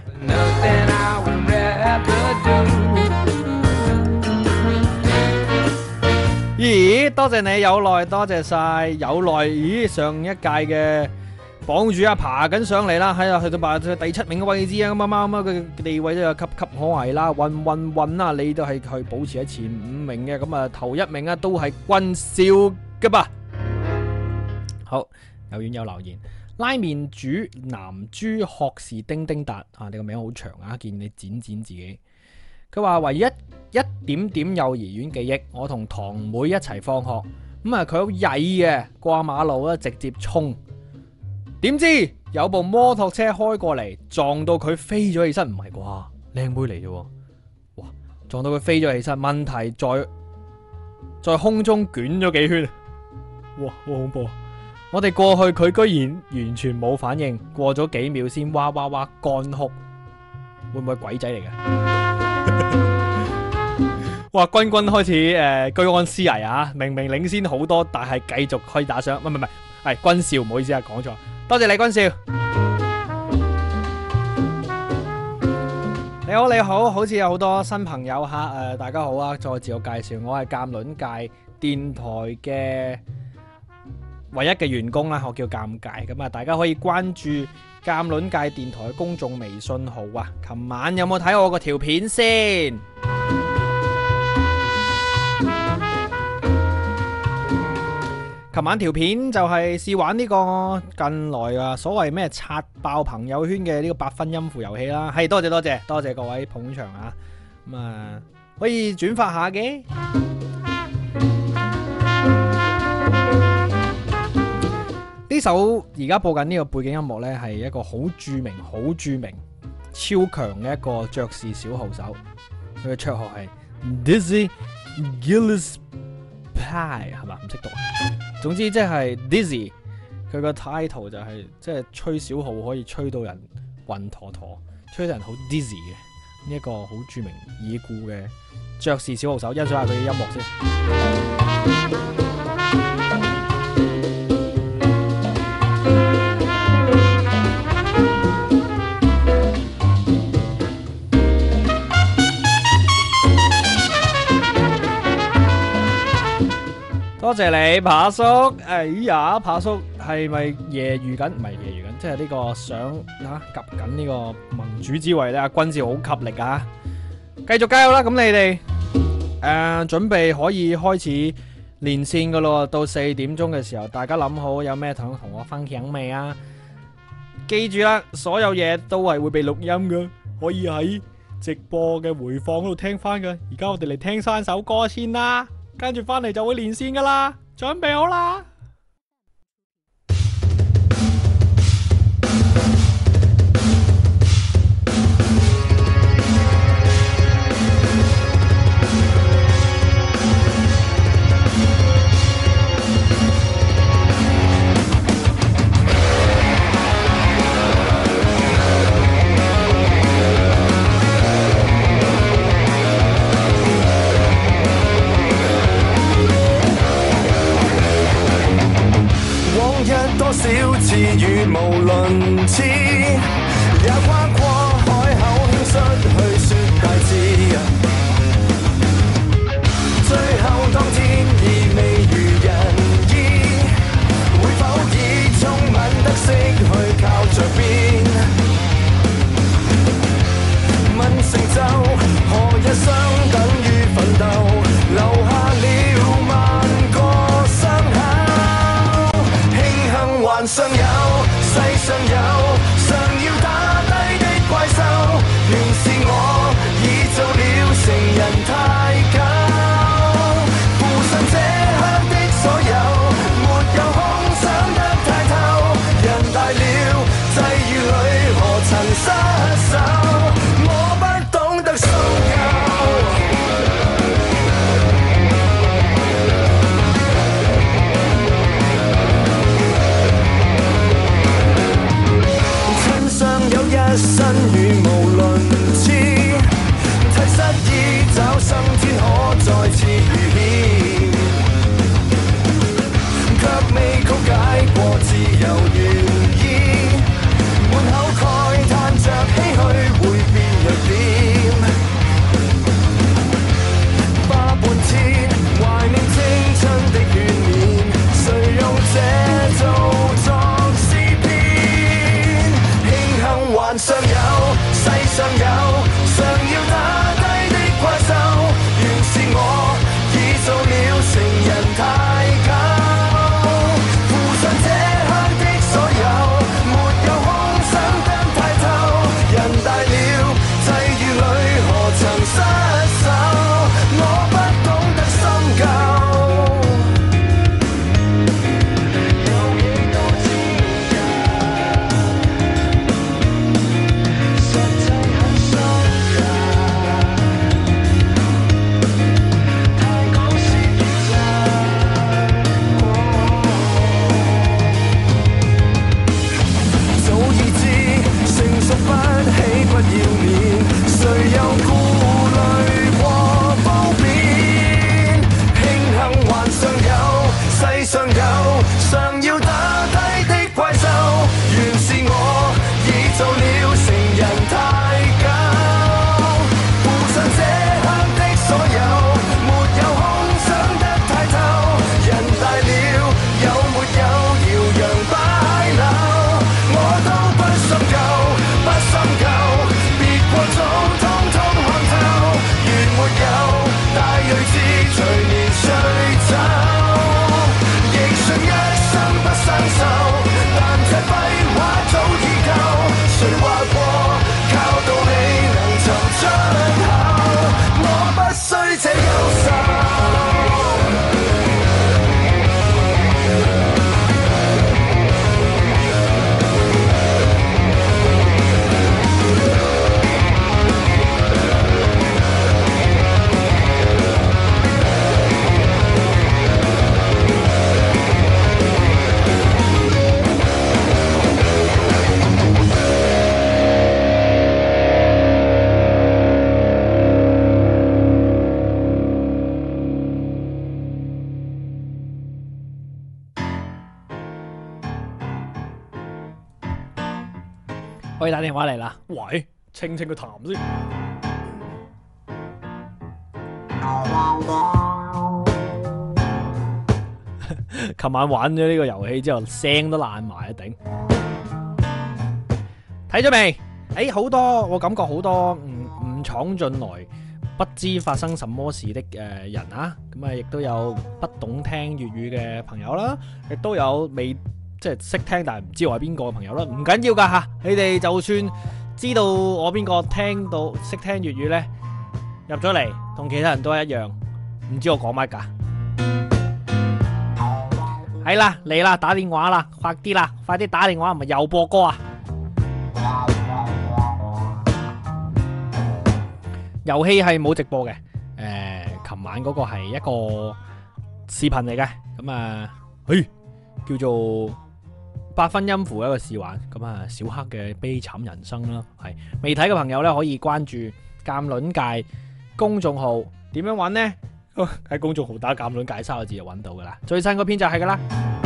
咦，多謝你有耐，多謝晒有耐。咦，上一屆嘅榜主啊，爬緊上嚟啦，喺度去到排第七名嘅位置啊，咁啊貓貓嘅地位都有岌岌可危啦，運運運啊，你都係去保持喺前五名嘅，咁啊頭一名啊都係軍少嘅吧。好，有院友留言，拉麵主男豬學士丁丁達啊，你個名好長啊，見你剪剪自己。佢話唯一一點點幼兒園記憶，我同堂妹一齊放學，咁啊佢好曳嘅，過馬路咧直接衝，點知有部摩托車開過嚟，撞到佢飛咗起身，唔係啩？靚妹嚟啫，哇！撞到佢飛咗起身，問題在在空中捲咗幾圈，哇！好恐怖！ 我哋過去佢居然完全冇反應，過咗幾秒先哇哇哇乾哭，會唔會鬼仔嚟嘅？哇！君君開始誒、呃、居安思危啊！明明領先好多，但係繼續可以打賞。唔係唔係，係君少，唔好意思啊，講錯。多謝你君少。你好你好，好似有好多新朋友吓，誒、呃、大家好啊！再自我介紹，我係鑑論界電台嘅唯一嘅員工啦，我叫鑑界。咁啊，大家可以關注鑑論界電台嘅公眾微信號啊。琴晚有冇睇我個條片先？琴晚條片就係試玩呢個近來啊所謂咩刷爆朋友圈嘅呢個八分音符遊戲啦，係多謝多謝多謝各位捧場啊，咁啊可以轉發下嘅。呢首而家播緊呢個背景音樂呢，係一個好著名、好著名、超強嘅一個爵士小號手，佢嘅綽號係 Dizzy Gillespie 係嘛？唔識讀啊。總之即係 Dizzy， 佢個 title 就係即係吹小號可以吹到人暈陀陀，吹到人好 dizzy 嘅呢一個好著名已故嘅爵士小號手，欣賞下佢嘅音樂先。多謝你，扒叔。哎呀，扒叔係咪揶揄緊？唔係揶揄緊，即係呢個想啊，夾緊呢個盟主之位咧。阿君少好給力啊！繼續加油啦！咁你哋誒、呃、準備可以開始連線噶咯。到四點鐘嘅時候，大家諗好有咩想同我分享未啊？記住啦，所有嘢都係會被錄音噶，可以喺直播嘅回放嗰度聽翻噶。而家我哋嚟聽三首歌先啦。跟住翻嚟就會連線噶啦，準備好啦！ 有顧慮過褒貶，慶幸還尚有，世上有常要打低的怪獸，原是我已做了成人太久，負上這刻的所有，沒有空想得太透，人大了有沒有搖揚擺柳，我都不深究，不深究，別過早通通看透，如沒有大睿智隨年歲走，亦信一生不生鏽，但這廢話早已夠，誰話過靠道理能尋出口，我不需這優秀。 可以打電話嚟啦。喂，清清個痰先。琴晚玩咗呢個遊戲之後，聲都爛埋啊！頂。睇咗未？誒，好多我感覺好多唔唔闖進來，不知發生什麼事的誒人啊！咁啊，亦都有不懂聽粵語嘅朋友啦，亦都有未。即係識聽但係唔知我係邊個嘅朋友啦，唔緊要噶吓，你哋就算知道我邊個聽到識聽粵語呢，入咗嚟同其他人都係一樣，唔知我講乜噶。係啦，嚟啦，打電話啦，快啲啦，快啲打電話，唔係又播歌啊！遊戲係冇直播嘅，誒、呃，琴晚嗰個係一個視頻嚟嘅，咁啊，誒，叫做。八分音符一個試玩，咁啊小黑嘅悲慘人生啦，係未睇嘅朋友咧可以關注鑑論界公眾號，點樣玩呢？喺公眾號打鑑論界三個字就揾到噶啦，最新嗰篇就係噶啦。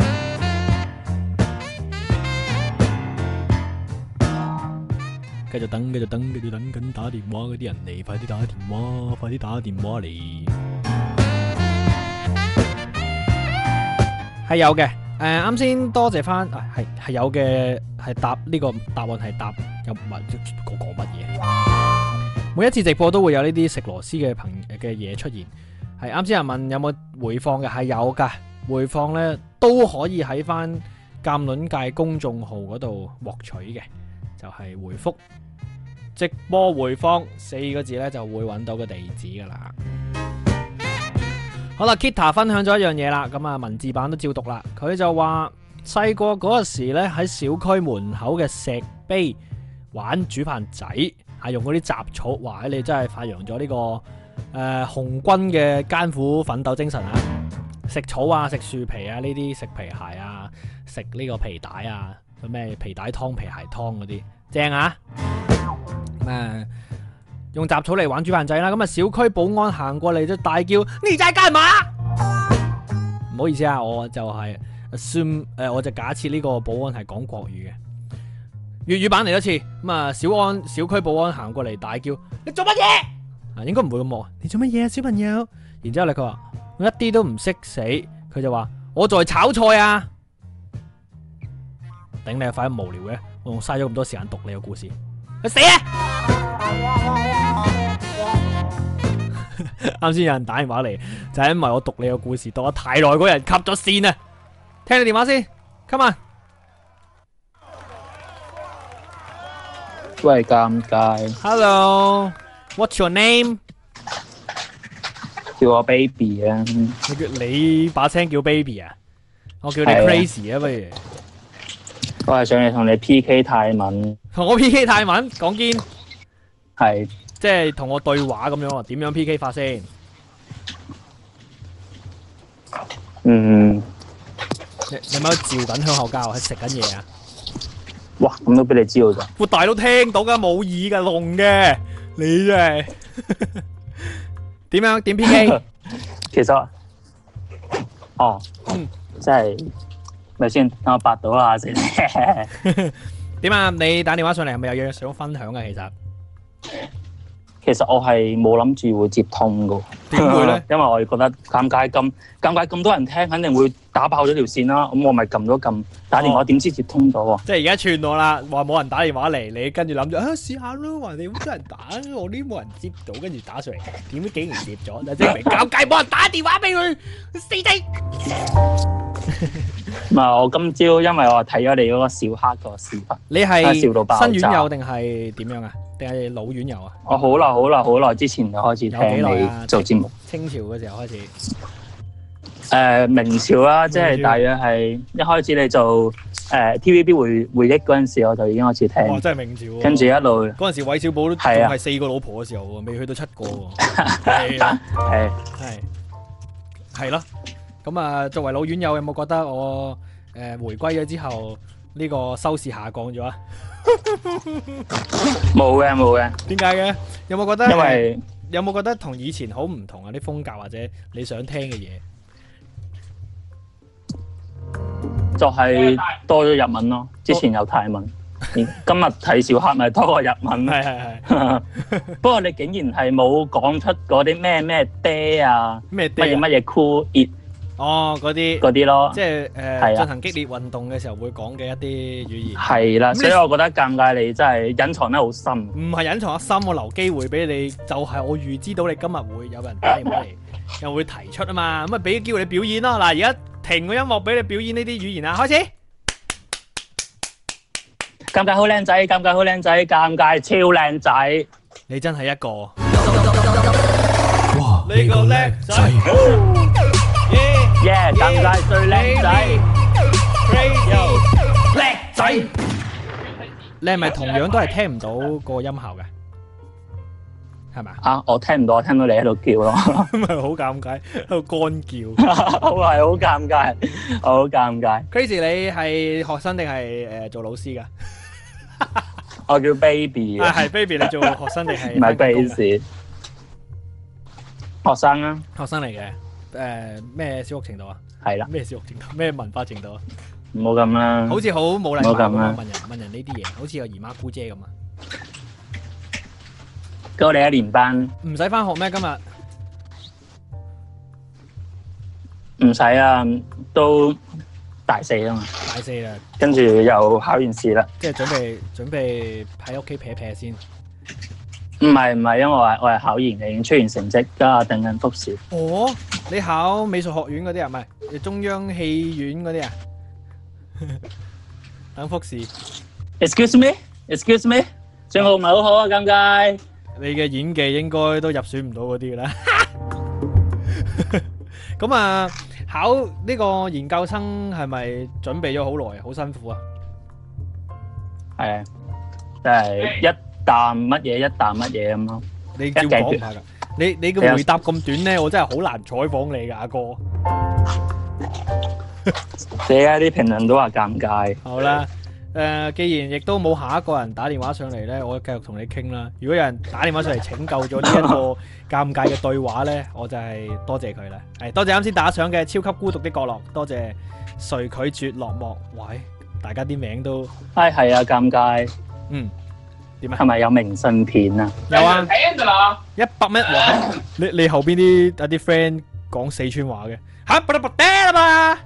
繼續等，繼續等，繼續等緊打電話嗰啲人嚟，快啲打電話，快啲打電話嚟。係有嘅。誒，啱先多謝翻，係係有嘅，係答呢個答案係答有問講講乜嘢？每一次直播都會有呢啲食螺絲嘅朋嘅嘢出現。係啱先有人問有冇回放嘅，係有噶，回放咧都可以喺翻鑑論界公眾號嗰度獲取嘅，就係回覆直播回放四個字咧就會揾到個地址噶啦。好啦 Kita 分享咗一樣嘢啦，咁啊文字版都照讀啦。佢就話細個嗰時咧喺小區門口嘅石碑玩煮飯仔，係用嗰啲雜草。哇！你真係發揚咗呢個誒、呃、紅軍嘅艱苦奮鬥精神啊！食草啊，食樹皮啊，呢啲食皮鞋啊，食呢個皮帶啊，咩皮帶湯、皮鞋湯嗰啲正啊！咁啊〜用雜草嚟玩煮飯仔啦，咁啊小區保安行過嚟就大叫：你在幹嘛？唔好意思啊，我就係 assume 誒、呃，我就假設呢個保安係講國語嘅。粵語版嚟一次，咁啊小安小區保安行過嚟大叫：你做乜嘢？啊，應該唔會咁惡。你做乜嘢啊，小朋友？然之後咧，佢話我一啲都唔識死，佢就話我在炒菜啊！頂你個肺咁無聊嘅，我仲嘥咗咁多時間讀你個故事，去死啊！啱先有人打電話嚟，就係因為我讀你個故事讀得太耐，嗰人吸咗線啊！聽你電話先 ，come on。 喂，尷尬。 Hello，what's your name？ 叫我 baby 啊。 你叫你把聲叫 baby 啊？我叫你 crazy 啊，不如。 我係上嚟同你 P K 泰文。 同我 P K 泰文講堅。 係。 即係同我對話咁樣啊？點樣 P K 法先？ 嗯。 你你咪照緊香口膠，係食緊嘢啊？ 哇！咁都俾你知道咋？ 我大佬聽到噶，冇耳噶，聾嘅。 你真係點樣點 P K？ 其實，哦， 嗯即係咪先？等我百度下先。 點啊？你打電話上嚟係咪有嘢想分享嘅？其實其實我係冇諗住會接通噶。 點會咧？ 因為我覺得尷尬咁尷尬咁多人聽，肯定會打爆咗條線啦。咁我咪撳咗撳打電話，點知接通咗喎？ 即係而家串我啦，話冇人打電話嚟，你跟住諗住啊試下咯，話你好多人打，我呢冇人接到，跟住打上嚟，點知竟然接咗，就證明尷尬冇人打電話俾佢，死仔！ 唔係，我今朝因為我睇咗你嗰個小黑個視頻， 你係笑到爆炸新院友定係點樣啊？定係老院友啊？ 我好耐好耐好耐之前就開始有幾聽耐啊你做節目。 清朝嘅時候開始。 誒明朝啦，即係大約係一開始你做誒 T V B 回回憶嗰陣時，我就已經開始聽。 哇！真係明朝喎。 跟住一路嗰陣時，韋小寶都仲係啊係四個老婆嘅時候喎，未去到七個喎。係啊， 係係係咯。咁啊，作為老院友，有冇覺得我誒回歸咗之後呢個收視下降咗啊？ 冇嘅冇嘅， 點解嘅？有冇覺得？ 因為有冇覺得同以前好唔同啊？啲風格或者你想聽嘅嘢？ 就係多咗日文咯，之前有泰文，今日睇小黑咪多過日文。 係係係。 不過你竟然係冇講出嗰啲咩咩爹啊， 咩乜嘢乜嘢 cool it 哦，嗰啲嗰啲咯， 即係誒係啊進行激烈運動嘅時候會講嘅一啲語言。 係啦， 咁你所以我覺得尷尬，你真係隱藏得好深。 唔係隱藏一心，我留機會俾你，就係、我預知到你今日會有人打電話嚟，又會提出啊嘛，咁啊俾機會你表演咯。嗱，而家停個音樂俾你表演呢啲語言啊，開始。 尷尬好靚仔，尷尬好靚仔，尷尬超靚仔。 你真係一個哇！ 呢個叻仔， 耶！尷尬最靚仔， 叻仔。你係咪同樣都係聽唔到個音效嘅？係咪啊？ 啊！我聽唔到，我聽到你喺度叫咯， 咁咪好尷尬，喺度乾叫。 我係好尷尬，我好尷尬。 Crazy，你係學生定係誒做老師㗎？ 我叫 baby 啊， 啊， 係 baby，你做學生定係唔係返緊工㗎 base。學生啊， 學生嚟嘅，誒咩小學程度啊？ 係啦， 咩小學程度？咩文化程度啊？ 唔好咁啦。 好似好冇禮貌唔好咁啦咁啊！問人問人呢啲嘢，好似個姨媽姑姐咁啊！ 咁我哋一年班唔使翻學咩？今日唔使啊，都大四啊嘛， 大四啦， 跟住又考完試啦。 即係準備準備喺屋企撇撇先。 唔係唔係，因為我係我係考完嘅，已經出完成績，家下等緊複試。 哦，你考美術學院嗰啲啊？唔係中央戲院嗰啲啊？等複試。 Excuse me，excuse me，信號唔係好好啊，尷尬。 你嘅演技應該都入選唔到嗰啲㗎啦。咁啊，考呢個研究生係咪準備咗好耐啊？好辛苦啊！ 係啊，即係一啖乜嘢一啖乜嘢咁咯。 你照講下㗎。你你嘅回答咁短咧，我真係好難採訪你㗎，阿哥。 而家啲評論都話尷尬。 好啦，誒，既然亦都冇下一個人打電話上嚟咧，我繼續同你傾啦。如果有人打電話上嚟拯救咗呢一個尷尬嘅對話咧，我就係多謝佢啦。係多謝啱先打賞嘅超級孤獨的角落，多謝誰拒絕落幕。喂，大家啲名都唉，係啊，尷尬。 嗯點啊？ 係咪有明信片啊？ 有啊，一百蚊。哇！你你後邊啲有啲 friend 講四川話嘅嚇，不得不得啦嘛。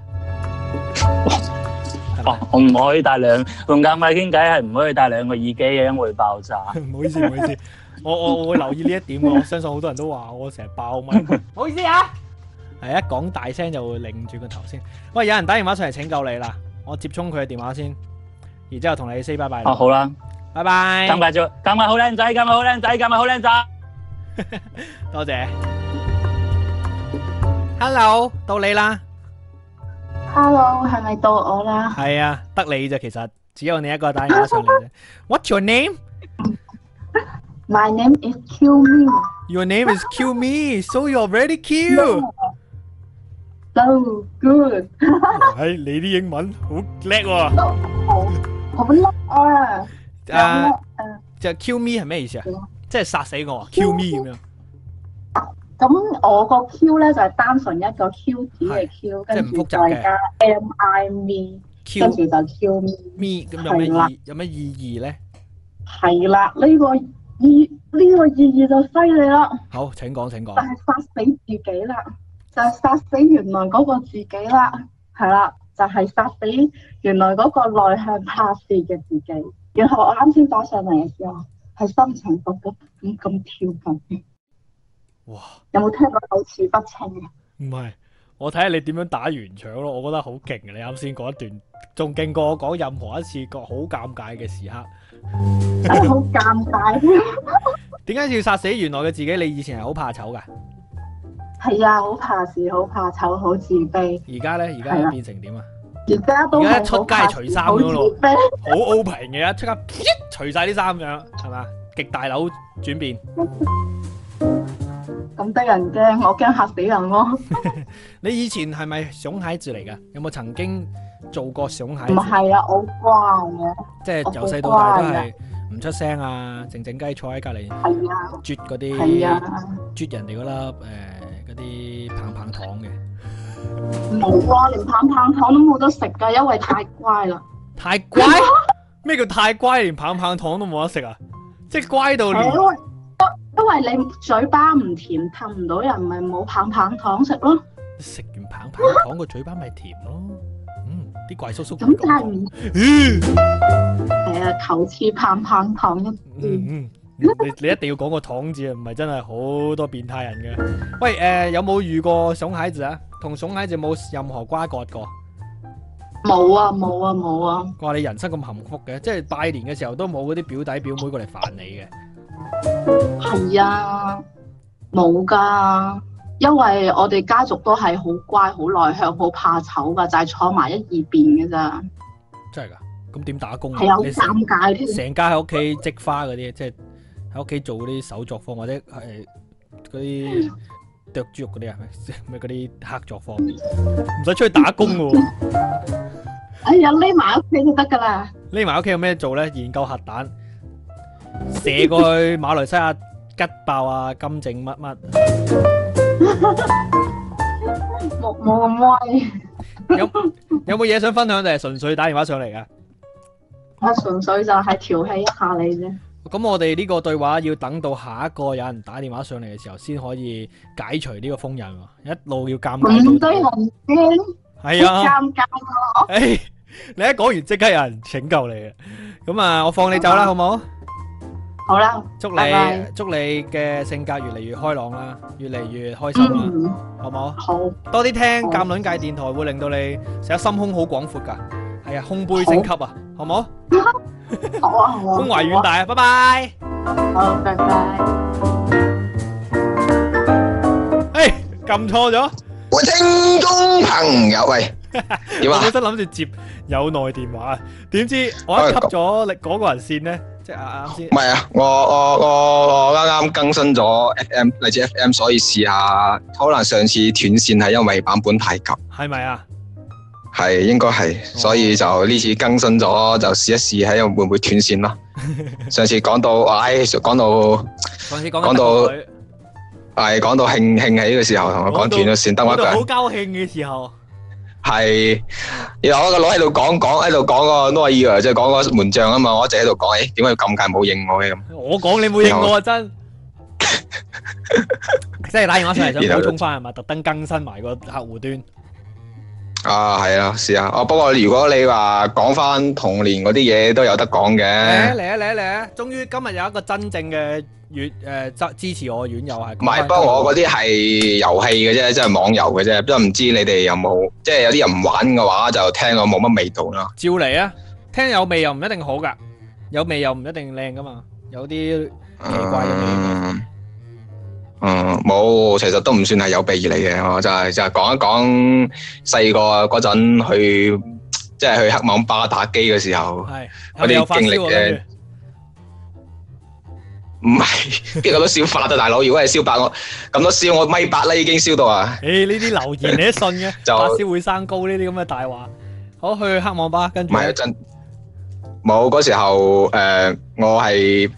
哦，我唔可以帶兩同尷尬傾偈，係唔可以帶兩個耳機嘅，因為會爆炸。 唔好意思，唔好意思，我我我會留意呢一點嘅。我相信好多人都話我成日爆咪。唔好意思啊，係一講大聲就會擰住個頭先。喂，有人打電話上嚟拯救你啦，我接通佢嘅電話先，然之後同你 say 拜拜。 哦，好啦， 拜拜。 尷尬咗，尷尬好靚仔，尷尬好靚仔，尷尬好靚仔。 多謝。Hello，到你啦。 Hello，係咪到我啦？ 係啊，得你啫，其實只有你一個打電話上嚟啫。What's your name? My name is Q Me. Your name is Q Me, so you're very cute. So good. 係你啲英文好叻喎。 好好叻啊！ 啊，就 Q Me 係咩意思啊？ 即係殺死我，kill me 咁樣。 咁我個 Q 咧就係單純一個 Q 字嘅 Q，跟住再加 M I me， 跟住就 Q me。 me 咁有咩意有咩意義咧？ 係啦，呢個意呢個意義就犀利啦。 好，請講請講。 就係殺死自己啦，就係殺死原來嗰個自己啦，係啦，就係殺死原來嗰個內向怕事嘅自己。然後我啱先打上嚟嘅時候，係心情勃勃咁咁跳緊。 哇！ 有冇聽過口齒不清啊？ 唔係，我睇下你點樣打圓場咯。我覺得好勁啊！你啱先嗰一段，仲勁過我講任何一次個好尷尬嘅時刻。 真係好尷尬。 點解要殺死原來嘅自己？你以前係好怕醜噶？ 係啊，好怕事，好怕醜，好自卑。 而家咧，而家變成點啊？ 而家都而家一出街除衫咁咯， 好好 open 嘅，一出街除晒啲衫咁樣，係嘛？極大樓轉變。 咁得人驚，我驚嚇死人咯。 你以前係咪熊孩子嚟噶？有冇曾經做過熊孩子？ 唔係啊，我乖嘅。 即係由細到大都係唔出聲啊，靜靜雞坐喺隔離， 係啊， 啜嗰啲， 係啊， 啜人哋嗰粒誒嗰啲棒棒糖嘅。 冇啊，連棒棒糖都冇得食噶，因為太乖啦。 太乖？咩叫太乖？連棒棒糖都冇得食啊？即係乖到連。 因為你嘴巴唔甜，氹唔到人，咪冇棒棒糖食咯。 食完棒棒糖個嘴巴咪甜咯。嗯，啲怪叔叔咁但係唔，係啊，求似棒棒糖一啲。 嗯嗯，你你一定要講個糖字啊，唔係真係好多變態人嘅。喂，誒、呃，有冇遇過熊孩子啊？同熊孩子冇任何瓜葛過？ 冇啊冇啊冇啊！ 話你人生咁幸福嘅，即係拜年嘅時候都冇嗰啲表弟表妹過嚟煩你嘅。 係啊，冇噶，因為我哋家族都係好乖、好內向、好怕醜噶，就係、是、坐埋一二邊嘅咋。 真係噶？咁點打工啊？ 係啊，好尷尬添。 成家喺屋企織花嗰啲，即係喺屋企做嗰啲手作坊，或者係嗰啲剁豬肉嗰啲啊，咩嗰啲黑作坊，唔使出去打工噶喎。 哎呀，匿埋屋企就得噶啦。 匿埋屋企有咩做咧？研究核彈。射過去馬來西亞吉爆啊金正乜乜， 冇冇咁威。 有有冇嘢想分享定係純粹打電話上嚟噶？ 我純粹就係調戲一下你啫。 咁我哋呢個對話要等到下一個有人打電話上嚟嘅時候，先可以解除呢個封印喎。一路要尷尬到。咁多人驚？係啊。尷尬咯。誒，你一講完即刻有人拯救你嘅。咁啊，我放你走啦，好唔好？ 好啦， 祝你拜拜祝你嘅性格越嚟越開朗啦，越嚟越開心啦， 嗯、 好唔好？ 好， 多啲聽鑑論界電台會令到你成日心胸好廣闊噶，係啊，胸杯升級啊，好唔好？ 好啊，好啊， 胸懷遠大啊，拜拜。 好，拜拜。 誒，撳錯咗。 喂，聽眾朋友，喂，點啊？ 我本身諗住接有內電話，點知我一吸咗你嗰個人線咧。即係啱先， 唔係啊！我我我我啱啱更新咗 F M 荔枝 F M， 所以試下，可能上次斷線係因為版本太急，係咪啊？ 係應該係，所以就呢次更新咗，就試一試睇會唔會斷線咯。上次講到，唉，講到， 上次講講到，係講到興興起嘅時候，同我講斷咗線，得我一個人。 好高興嘅時候。 係，然後我個佬喺度講講喺度講個 no idea，即係講個門將啊嘛，我一直喺度講，誒，點解要咁介冇應我嘅咁？ 我講你冇應我啊，真，即係打電話上嚟想補充翻係嘛，特登更新埋個客戶端。 啊，係啊，是啊，哦，不過如果你話講翻童年嗰啲嘢都有得講嘅。 嚟啊嚟啊嚟啊！終於今日有一個真正嘅院誒支持我嘅院友係。 唔係，不過我嗰啲係遊戲嘅啫，即係網遊嘅啫，都唔知你哋有冇，即係有啲人唔玩嘅話就聽我冇乜味道啦。 照嚟啊！聽有味又唔一定好噶，有味又唔一定靚噶嘛，有啲奇怪嘅味。 嗯，冇，其實都唔算係有備而嚟嘅，我就係就係講一講細個嗰陣去，即係去黑網吧打機嘅時候，嗰啲經歷嘅。唔係，邊個都燒發啊，大佬！如果係燒八，我咁多燒，我米八啦，已經燒到啊！ 誒，呢啲留言你都信嘅？ 就發燒會生高呢啲咁嘅大話。好，去黑網吧，跟住。 唔係真冇嗰時候，誒，我係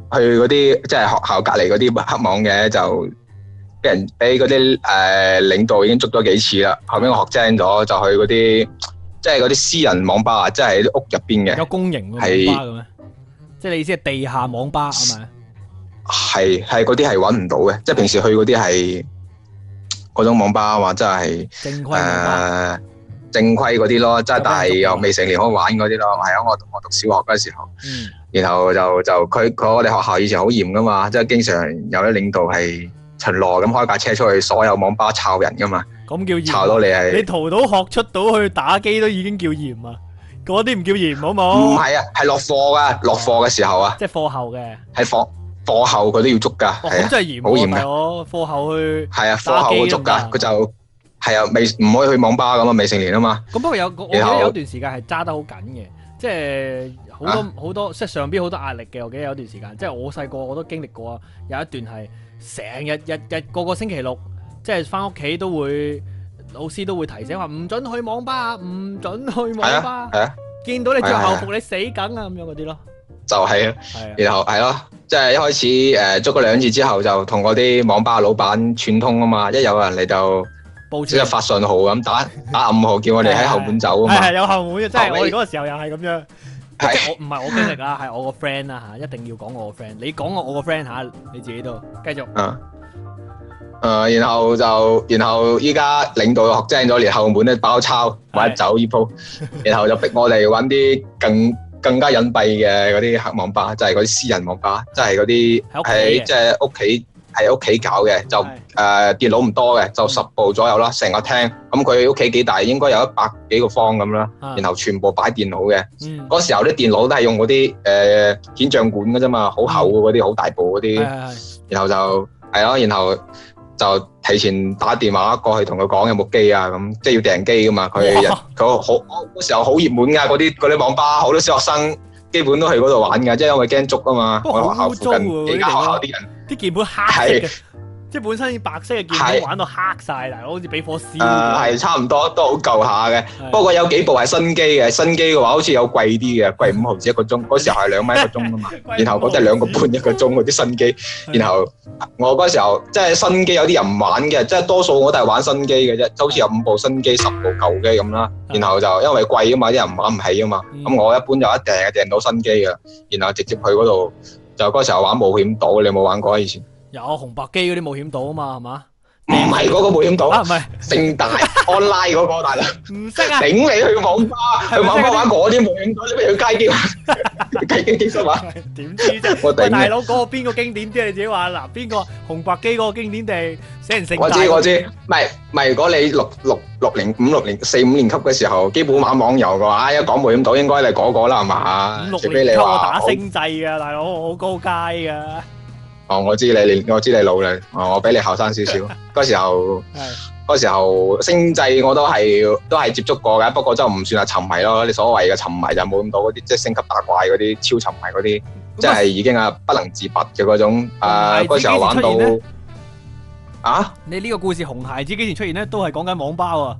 去嗰啲即係學校隔離嗰啲黑網嘅，就俾人俾嗰啲誒領導已經捉咗幾次啦。後尾我學精咗，就去嗰啲即係嗰啲私人網吧啊，即係喺啲屋入邊嘅。 有公營嘅網吧嘅咩？即係你意思係地下網吧係咪？ 係係嗰啲係揾唔到嘅，即係平時去嗰啲係嗰種網吧或者係正規網吧。 正規嗰啲咯，即係但係又未成年可以玩嗰啲咯。係啊，我我讀小學嗰時候，嗯、然後就就佢佢我哋學校以前好嚴噶嘛，即係經常有啲領導係巡邏咁開架車出去所有網吧抄人噶嘛。 咁叫嚴？ 抄到你係你逃到學出到去打機都已經叫嚴啊！嗰啲唔叫嚴好冇？ 唔係啊，係落課噶，落課嘅時候啊， 即係課後嘅。 係課課後佢都要捉噶，係啊， 真係嚴， 好嚴噶。 我課後去係啊，課後會捉噶，佢就。係啊，未唔可以去網吧咁啊，未成年啊嘛。 咁不過有我記得有段時間係揸得好緊嘅，即係好多好、啊、多即係上邊好多壓力嘅。我記得有段時間，即係我細個我都經歷過啊。有一段係成日日日個個星期六，即係翻屋企都會老師都會提醒話唔准去網吧，唔准去網吧。 係啊， 見到你着校服你死梗啊咁樣嗰啲咯。就係、是、啊，然後係咯，即係一開始誒捉咗兩次之後，就同嗰啲網吧老闆串通啊嘛，一有人嚟就。即係發信號咁打打暗號，叫我哋喺後門走啊嘛。 係係有後門嘅，即係我哋嗰個時候又係咁樣。即係我唔係我經歷啦，係我個 friend 啦吓，一定要講我個 friend。你講我我個 friend 吓，你自己都繼續。嗯。 誒，然後就然後依家領導學精咗，連後門咧包抄，或者走呢鋪，然後就逼我哋搵啲更更加隱蔽嘅嗰啲黑網吧，即係嗰啲私人網吧，即係嗰啲喺即係屋企。喺屋企搞嘅，就誒、呃、電腦唔多嘅，就十部左右啦，成個廳。咁佢屋企幾大，應該有一百幾個方咁啦。然後全部擺電腦嘅。嗰、嗯、時候啲電腦都係用嗰啲誒顯像管嘅啫嘛，好厚嗰啲，好大部嗰啲。然後就係咯，然後就提前打電話過去同佢講有冇機啊，咁即係要訂機噶嘛。佢佢好嗰時候好熱門㗎，嗰啲嗰啲網吧好多小學生基本都去嗰度玩㗎，即係因為驚捉啊嘛。我學校附近幾間學校啲人。啲鍵盤黑色嘅，即係本身白色嘅鍵盤玩到黑晒，大佬好似俾火燒。誒，係差唔多，都好舊下嘅。不過有幾部係新機嘅，新機嘅話好似有貴啲嘅，貴五毫子一個鐘。嗰時候係兩蚊一個鐘啊嘛，然後嗰啲係兩個半一個鐘嗰啲新機。然後我嗰時候即係新機有啲人唔玩嘅，即係多數我都係玩新機嘅啫，就好似有五部新機、十部舊機咁啦。然後就因為貴啊嘛，啲人玩唔起啊嘛。咁我一般就一訂係訂到新機嘅，然後直接去嗰度。就嗰時候玩冒險島，你有冇玩過啊？以前有紅白機嗰啲冒險島啊嘛，係嘛？ 唔係嗰個冒險島啊，唔係盛大 online 嗰個大佬， 唔識啊！ 頂你去網吧，去網吧玩嗰啲冒險島，你不如去街機玩，街機機室玩。 點知啫？我頂！大佬嗰個邊個經典啲？你自己話嗱，邊個紅白機嗰個經典地死人盛大？ 我知我知，唔係唔係，如果你六六六零五六年四五年級嘅時候，基本玩網遊嘅話，一講冒險島應該係嗰個啦，係嘛？ 五六年級我打星際嘅大佬，好高階嘅。 哦，我知你，你我知你老啦，哦，我比你後生少少。嗰時候，嗰時候星際我都係都係接觸過嘅，不過就唔算係沉迷咯。你所謂嘅沉迷就冇咁多嗰啲，即係升級打怪嗰啲超沉迷嗰啲，即係已經係不能自拔嘅嗰種。誒，嗰時候玩到啊！ 你呢個故事紅孩子幾時出現咧？都係講緊網吧喎。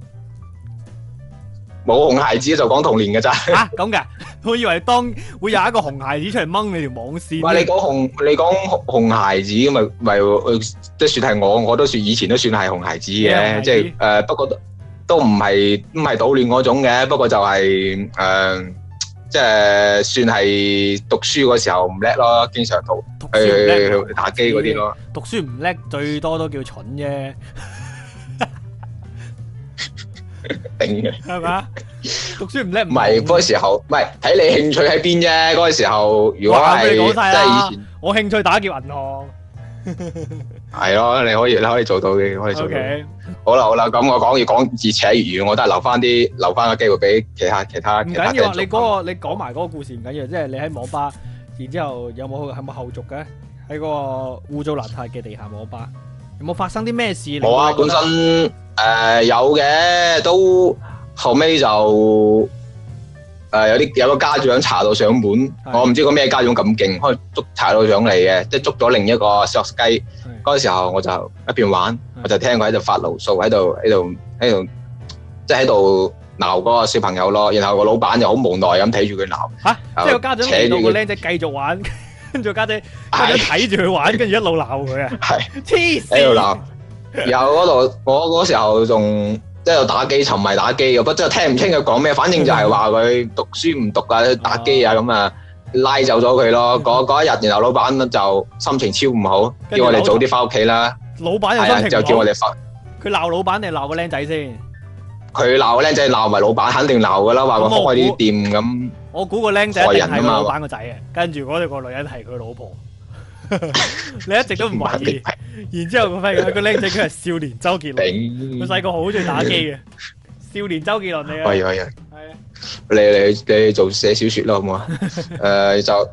冇紅孩子就講童年嘅咋？ 吓咁嘅，我以為當會有一個紅孩子出嚟掹你條網線。 唔係你講紅，你講紅孩子咁咪咪即係算係我，我都算以前都算係紅孩子嘅，即係誒，不過都都唔係唔係搗亂嗰種嘅，不過就係誒，即係算係讀書嗰時候唔叻咯，經常讀去打機嗰啲咯。 讀書唔叻，最多都叫蠢啫。 定嘅係嘛？讀書唔叻唔係嗰個時候，唔係睇你興趣喺邊啫。嗰個時候如果係即係以前， 我興趣打劫銀行。 係咯，你可以你可以做到嘅，可以做到。好啦好啦，咁我講要講自扯粵語，我都係留翻啲留翻個機會俾其他其他。唔緊要啊，你嗰個你講埋嗰個故事唔緊要，即係你喺網吧，然之後有冇係冇後續嘅？喺嗰個污糟邋遢嘅地下網吧，有冇發生啲咩事？ 冇啊，本身。誒、呃，有嘅，都後尾就誒、呃、有啲有個家長查到上門，我唔知個咩家長咁勁，可以捉查到上嚟嘅，即係捉咗另一個小學雞。嗰個時候我就一邊玩，我就聽佢喺度發牢騷，喺度喺度喺度，即係喺度鬧嗰個小朋友咯。然後個老闆就好無奈咁睇住佢鬧。 吓，即係個家長令到個僆仔繼續玩。 跟住家姐家姐睇住佢玩，跟住一路鬧佢啊！ 係黐線喺度鬧。有嗰度，我嗰時候仲即係打機，沉迷打機嘅，不過真係聽唔清佢講咩。反正就係話佢讀書唔讀啊，打機啊咁啊，拉走咗佢咯。嗰嗰一日，然後老闆就心情超唔好，叫我哋早啲翻屋企啦。 老闆又係啊， 心情唔好， 就叫我哋翻。 佢鬧老闆定係鬧個僆仔先？ 佢鬧個僆仔，鬧埋老闆，肯定鬧噶啦，話佢開啲店咁。 我估個僆仔一定係害人啊嘛個老闆個仔啊，跟住嗰個女人係佢老婆。你一直都唔懷疑，然之後佢發現個僆仔佢係少年周杰倫，佢細個好中意打機嘅。少年周杰倫嚟啊！ 可以可以， 係啊， 你你你做寫小說咯，好唔好啊？誒就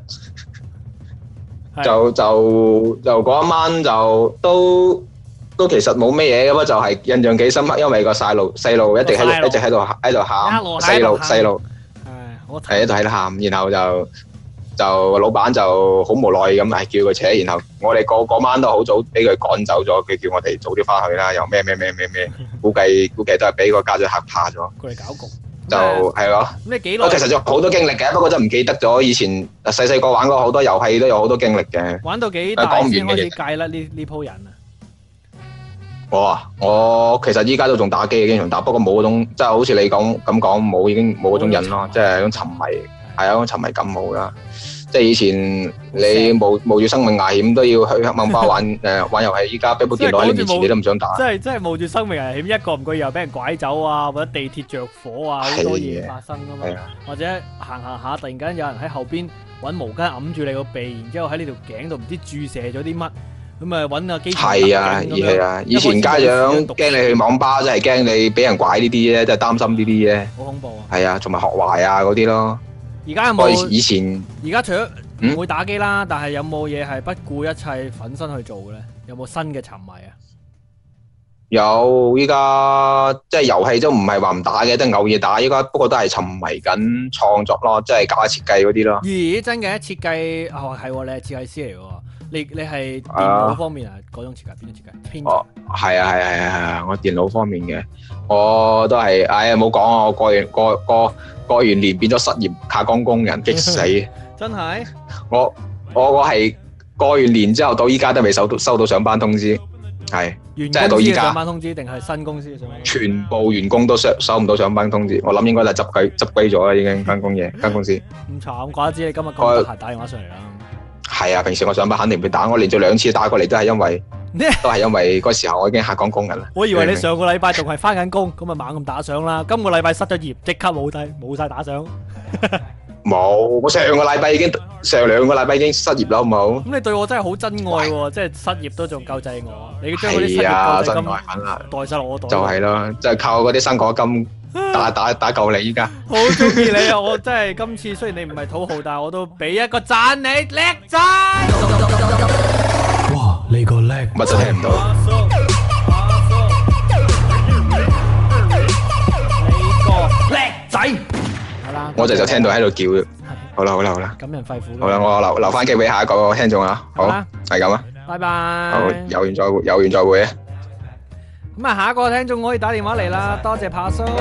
就就就嗰一晚就都都其實冇咩嘢嘅，不過就係印象幾深刻，因為個細路細路一直喺度一直喺度喺度喊，細路細路係喺度喺度喊，然後就就老闆就好無奈咁係叫佢扯，然後我哋嗰嗰晚都好早俾佢趕走咗，佢叫我哋早啲翻去啦，又咩咩咩咩咩，估計估計都係俾個家長嚇怕咗。 過嚟搞局就係咯。 咁你幾耐？ 我其實仲有好多經歷嘅，不過真係唔記得咗。以前細細個玩過好多遊戲，都有好多經歷嘅。 玩到幾大先開始戒甩呢呢鋪人啊？ 我啊，我其實依家都仲打機嘅，經常打，不過冇嗰種即係好似你講咁講冇，已經冇嗰種癮咯，即係嗰種沉迷，係啊，嗰種沉迷感冇啦。即係以前你冒冒住生命危險都要去黑網吧玩誒玩遊戲，依家俾部電腦喺你面前你都唔想打。 即係即係冒住生命危險，一個唔覺意又俾人拐走啊，或者地鐵着火啊，好多嘢發生噶嘛。或者行行下，突然間有人喺後邊揾毛巾揞住你個鼻，然之後喺你條頸度唔知注射咗啲乜，咁啊揾個機。 係啊，係啊，以前家長驚你去網吧，真係驚你俾人拐呢啲啫，真係擔心呢啲啫。 好恐怖啊！ 係啊，同埋學壞啊嗰啲咯。 而家有冇？ 以前而家除咗唔會打機啦，但係有冇嘢係不顧一切奮身去做嘅咧？有冇新嘅沉迷啊？ 有，依家即係遊戲都唔係話唔打嘅，都係偶爾打。依家不過都係沉迷緊創作咯，即係搞下設計嗰啲咯。 咦，真嘅設計哦係，你係設計師嚟嘅喎。你你係電腦方面啊？嗰種設計邊種設計？編哦，係啊係啊係啊係啊！我電腦方面嘅，我都係，哎呀冇講啊！我過完過過過完年變咗失業卡崗工人，激死！ 真係？ 我我我係過完年之後到依家都未收到收到上班通知，係即係到依家上班通知定係新公司嘅上班通知？ 全部員工都收收唔到上班通知，我諗應該就執歸執歸咗啦，已經間工嘢間公司。 咁慘，怪得知你今日咁得閒打電話上嚟啦。 係啊，平時我上班肯定會打，我連續兩次打過嚟都係因為都係因為嗰時候我已經下崗工人啦。 我以為你上個禮拜仲係翻緊工，咁啊猛咁打賞啦。今個禮拜失咗業，即刻冇低冇晒打賞。 冇，我上個禮拜已經上兩個禮拜已經失業啦，好唔好？ 咁你對我真係好真愛喎，即係失業都仲救濟我。你將嗰啲失業救濟金代晒落我袋。 就係咯，就係靠嗰啲生果金打打打救你依家。 好中意你啊！我真係今次雖然你唔係土豪，但係我都俾一個讚你叻仔。 哇！你個叻， 乜都聽唔到。 你個叻仔。係啦， 我就就聽到喺度叫。好啦好啦好啦。 感人肺腑。 好啦，我留留翻機俾下一個聽眾啊。好，係咁啊。 拜拜。 好，有緣再會，有緣再會啊。 咁啊，下一個聽眾可以打電話嚟啦，多謝柏叔。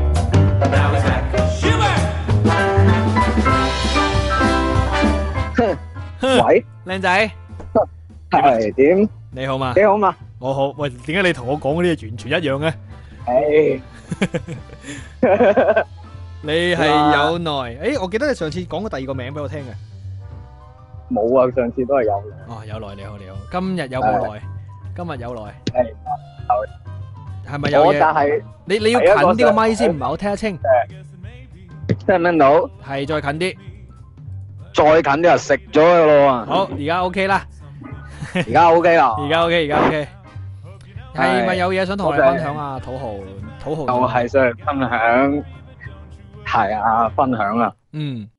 喂， 靚仔， 係點？ 你好嘛？ 幾好嘛？ 我好。喂，點解你同我講嗰啲嘢完全一樣嘅？ 誒， 你係有耐。誒，我記得你上次講過第二個名俾我聽嘅。 冇啊，上次都係有耐。 哦，有耐，你好你好。今日有冇耐？今日有耐。 係有。 係咪有嘢？ 我但係你你要近啲個咪先，唔係好聽得清。 聽唔聽到？ 係再近啲。 再近啲就食咗佢咯。 好，而家 OK 啦。 而家 OK 啦。 而家 OK，而家 OK。係咪有嘢想同我哋分享啊？土豪，土豪。 就係想分享，係啊，分享啊。 嗯。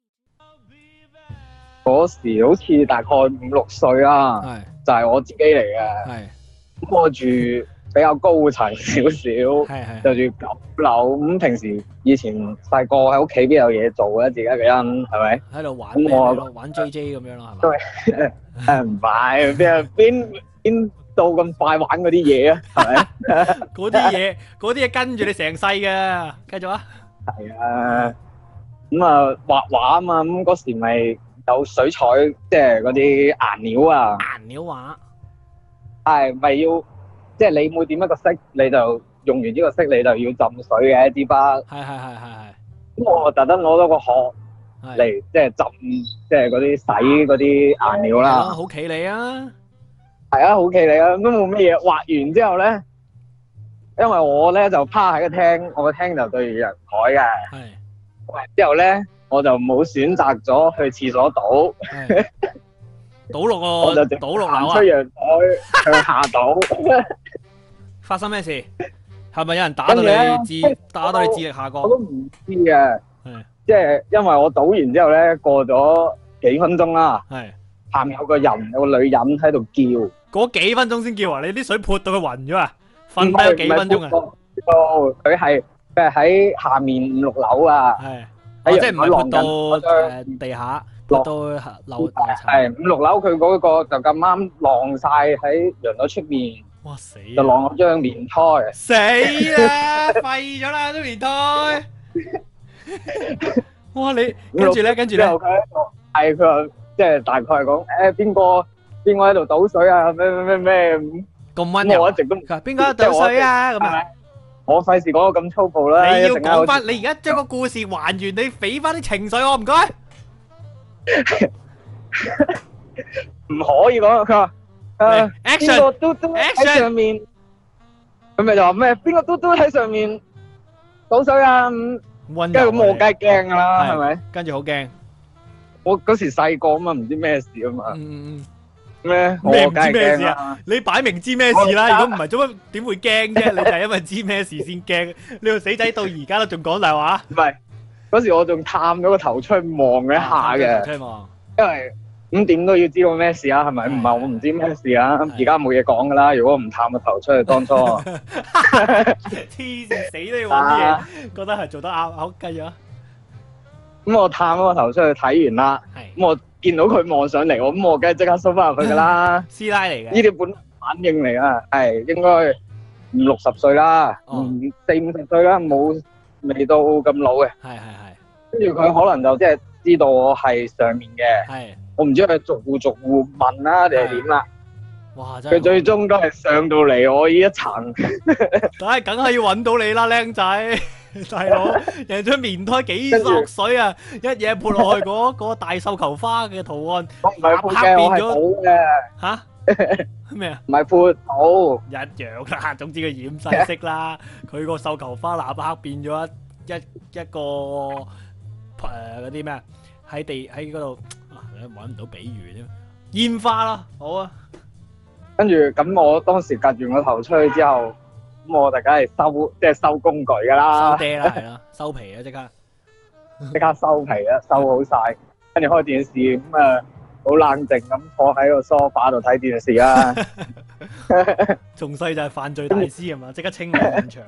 嗰時好似大概五六歲啦，就係我自己嚟嘅。 係。 咁我住比較高層少少，就住九樓。咁平時以前細個喺屋企邊有嘢做嘅，自己一個人係咪？ 喺度玩。 咁我玩 J J 咁樣咯，係咪？誒唔係，邊邊邊到咁快玩嗰啲嘢啊？係咪？ 嗰啲嘢，嗰啲嘢跟住你成世嘅。繼續啊！ 係啊，咁啊畫畫啊嘛，咁嗰時咪有水彩，即係嗰啲顏料啊。 顏料畫係咪要？即係你每點一個色，你就用完呢個色，你就要浸水嘅支筆。 係係係係係。 咁我特登攞咗個殼嚟，即係浸，即係嗰啲洗嗰啲顏料啦。 好企理啊！ 係啊，好企理啊，都冇乜嘢。畫完之後咧，因為我咧就趴喺個廳，我個廳就對住陽台嘅。係。畫完之後咧，我就冇選擇咗去廁所倒。 倒落個， 我就倒落樓啊！ 出陽台向下倒。 發生咩事？係咪有人打到你智打到你智力下降？ 我都唔知嘅，即係因為我倒完之後咧，過咗幾分鐘啦，下面有個人有個女人喺度叫， 嗰幾分鐘先叫啊！你啲水潑到佢暈咗啊！瞓低咗幾分鐘啊！ 佢係佢係喺下面五六樓啊， 係即係唔係潑到誒地下，潑到樓大層。 係五六樓，佢嗰個就咁啱晾晒喺陽台出面。 哇死！ 就晾咗張棉胎， 死啦，廢咗啦張棉胎。哇你跟住咧，跟住咧， 係佢話即係大概係講誒邊個邊個喺度倒水啊？咩咩咩咩咁溫柔， 我一直都唔邊個喺度倒水啊？咁啊， 我費事講到咁粗暴啦。 你要講翻，你而家將個故事還原，你俾翻啲情緒我唔該。 唔可以講佢話。誒，邊個嘟嘟喺上面？佢咪就話咩？邊個嘟嘟喺上面倒水啊？咁，跟住咁我梗係驚噶啦，係咪？ 跟住好驚。 我嗰時細個啊嘛，唔知咩事啊嘛。 嗯咩？ 咩唔知咩事啊？你擺明知咩事啦？如果唔係，做乜點會驚啫？你就係因為知咩事先驚。你個死仔到而家都仲講大話。 唔係，嗰時我仲探咗個頭出去望一下嘅。 出去望。因為。 咁點都要知道咩事啊？係咪？唔係我唔知咩事啊！而家冇嘢講噶啦。如果唔探個頭出去，當初黐線死都要揾啲嘢，覺得係做得啱，好繼續啊！ 咁我探咗個頭出去睇完啦，咁我見到佢望上嚟，我咁我梗係即刻收翻入去噶啦。 師奶嚟嘅， 呢啲本反應嚟啊，係應該五六十歲啦，四五十歲啦，冇未到咁老嘅。 係係係。 跟住佢可能就即係知道我係上面嘅。係。我唔知佢逐戶逐戶問啦定係點啦， 哇！真係佢最終都係上到嚟我呢一層， 梗係梗係要揾到你啦，靚仔大佬，人張棉胎幾索水啊！一嘢潑落去嗰嗰個大繡球花嘅圖案， 我唔係潑嘅，我係倒嘅嚇咩啊？ 唔係潑倒， 一樣啦。總之佢染晒色啦，佢個繡球花立刻變咗一一一個誒嗰啲咩啊？喺地喺嗰度。搵唔到比喻啫，煙花啦，好啊。 跟住咁，我當時夾完個頭出去之後，咁我就梗係收，即係收工具噶啦。 收爹啦，係啦，收皮啊，即刻， 即刻收皮啦，收好晒。跟住開電視，咁啊，好冷靜咁坐喺個梳化度睇電視啦。 從細就係犯罪大師係嘛，即刻清理現場。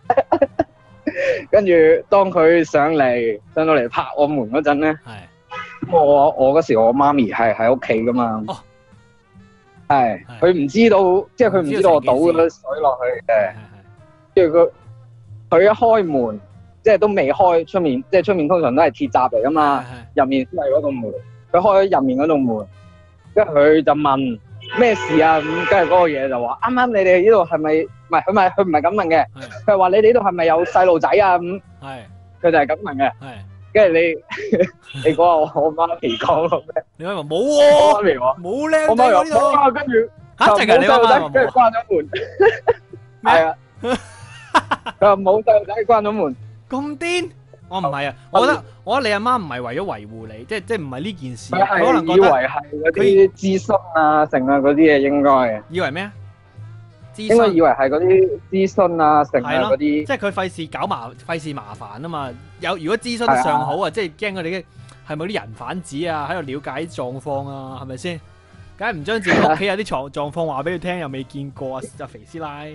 跟住當佢上嚟，上到嚟拍我門嗰陣咧，係。我我嗰時我媽咪係喺屋企噶嘛，係佢唔知道，即係佢唔知道我倒咗水落去嘅。跟住佢佢一開門，即係都未開出面，即係出面通常都係鐵閘嚟噶嘛，入面先係嗰道門。佢開咗入面嗰道門，跟住佢就問咩事啊？咁跟住嗰個嘢就話：啱啱你哋呢度係咪？唔係佢咪佢唔係咁問嘅，佢係話你哋呢度係咪有細路仔啊？咁係佢就係咁問嘅。跟住你，你講下我我媽咪講咯咩？ 你媽咪冇喎， 媽咪話冇靚我媽咪話跟住嚇淨係你媽咪跟住關咗門，係啊，佢話冇細路仔關咗門， 咁癲？我唔係啊，我覺得我覺得你阿媽唔係為咗維護你，即係即係唔係呢件事，佢可能覺得以為係嗰啲諮詢啊、成啊嗰啲嘢應該， 以為咩啊？ 應該以為係嗰啲諮詢啊、成啊嗰啲， 即係佢費事搞麻費事麻煩啊嘛。有如果諮詢得上好啊，即係驚佢哋嘅係咪啲人販子啊，喺度了解狀況啊，係咪先？梗係唔將自己屋企有啲狀狀況話俾佢聽，又未見過啊，阿肥師奶。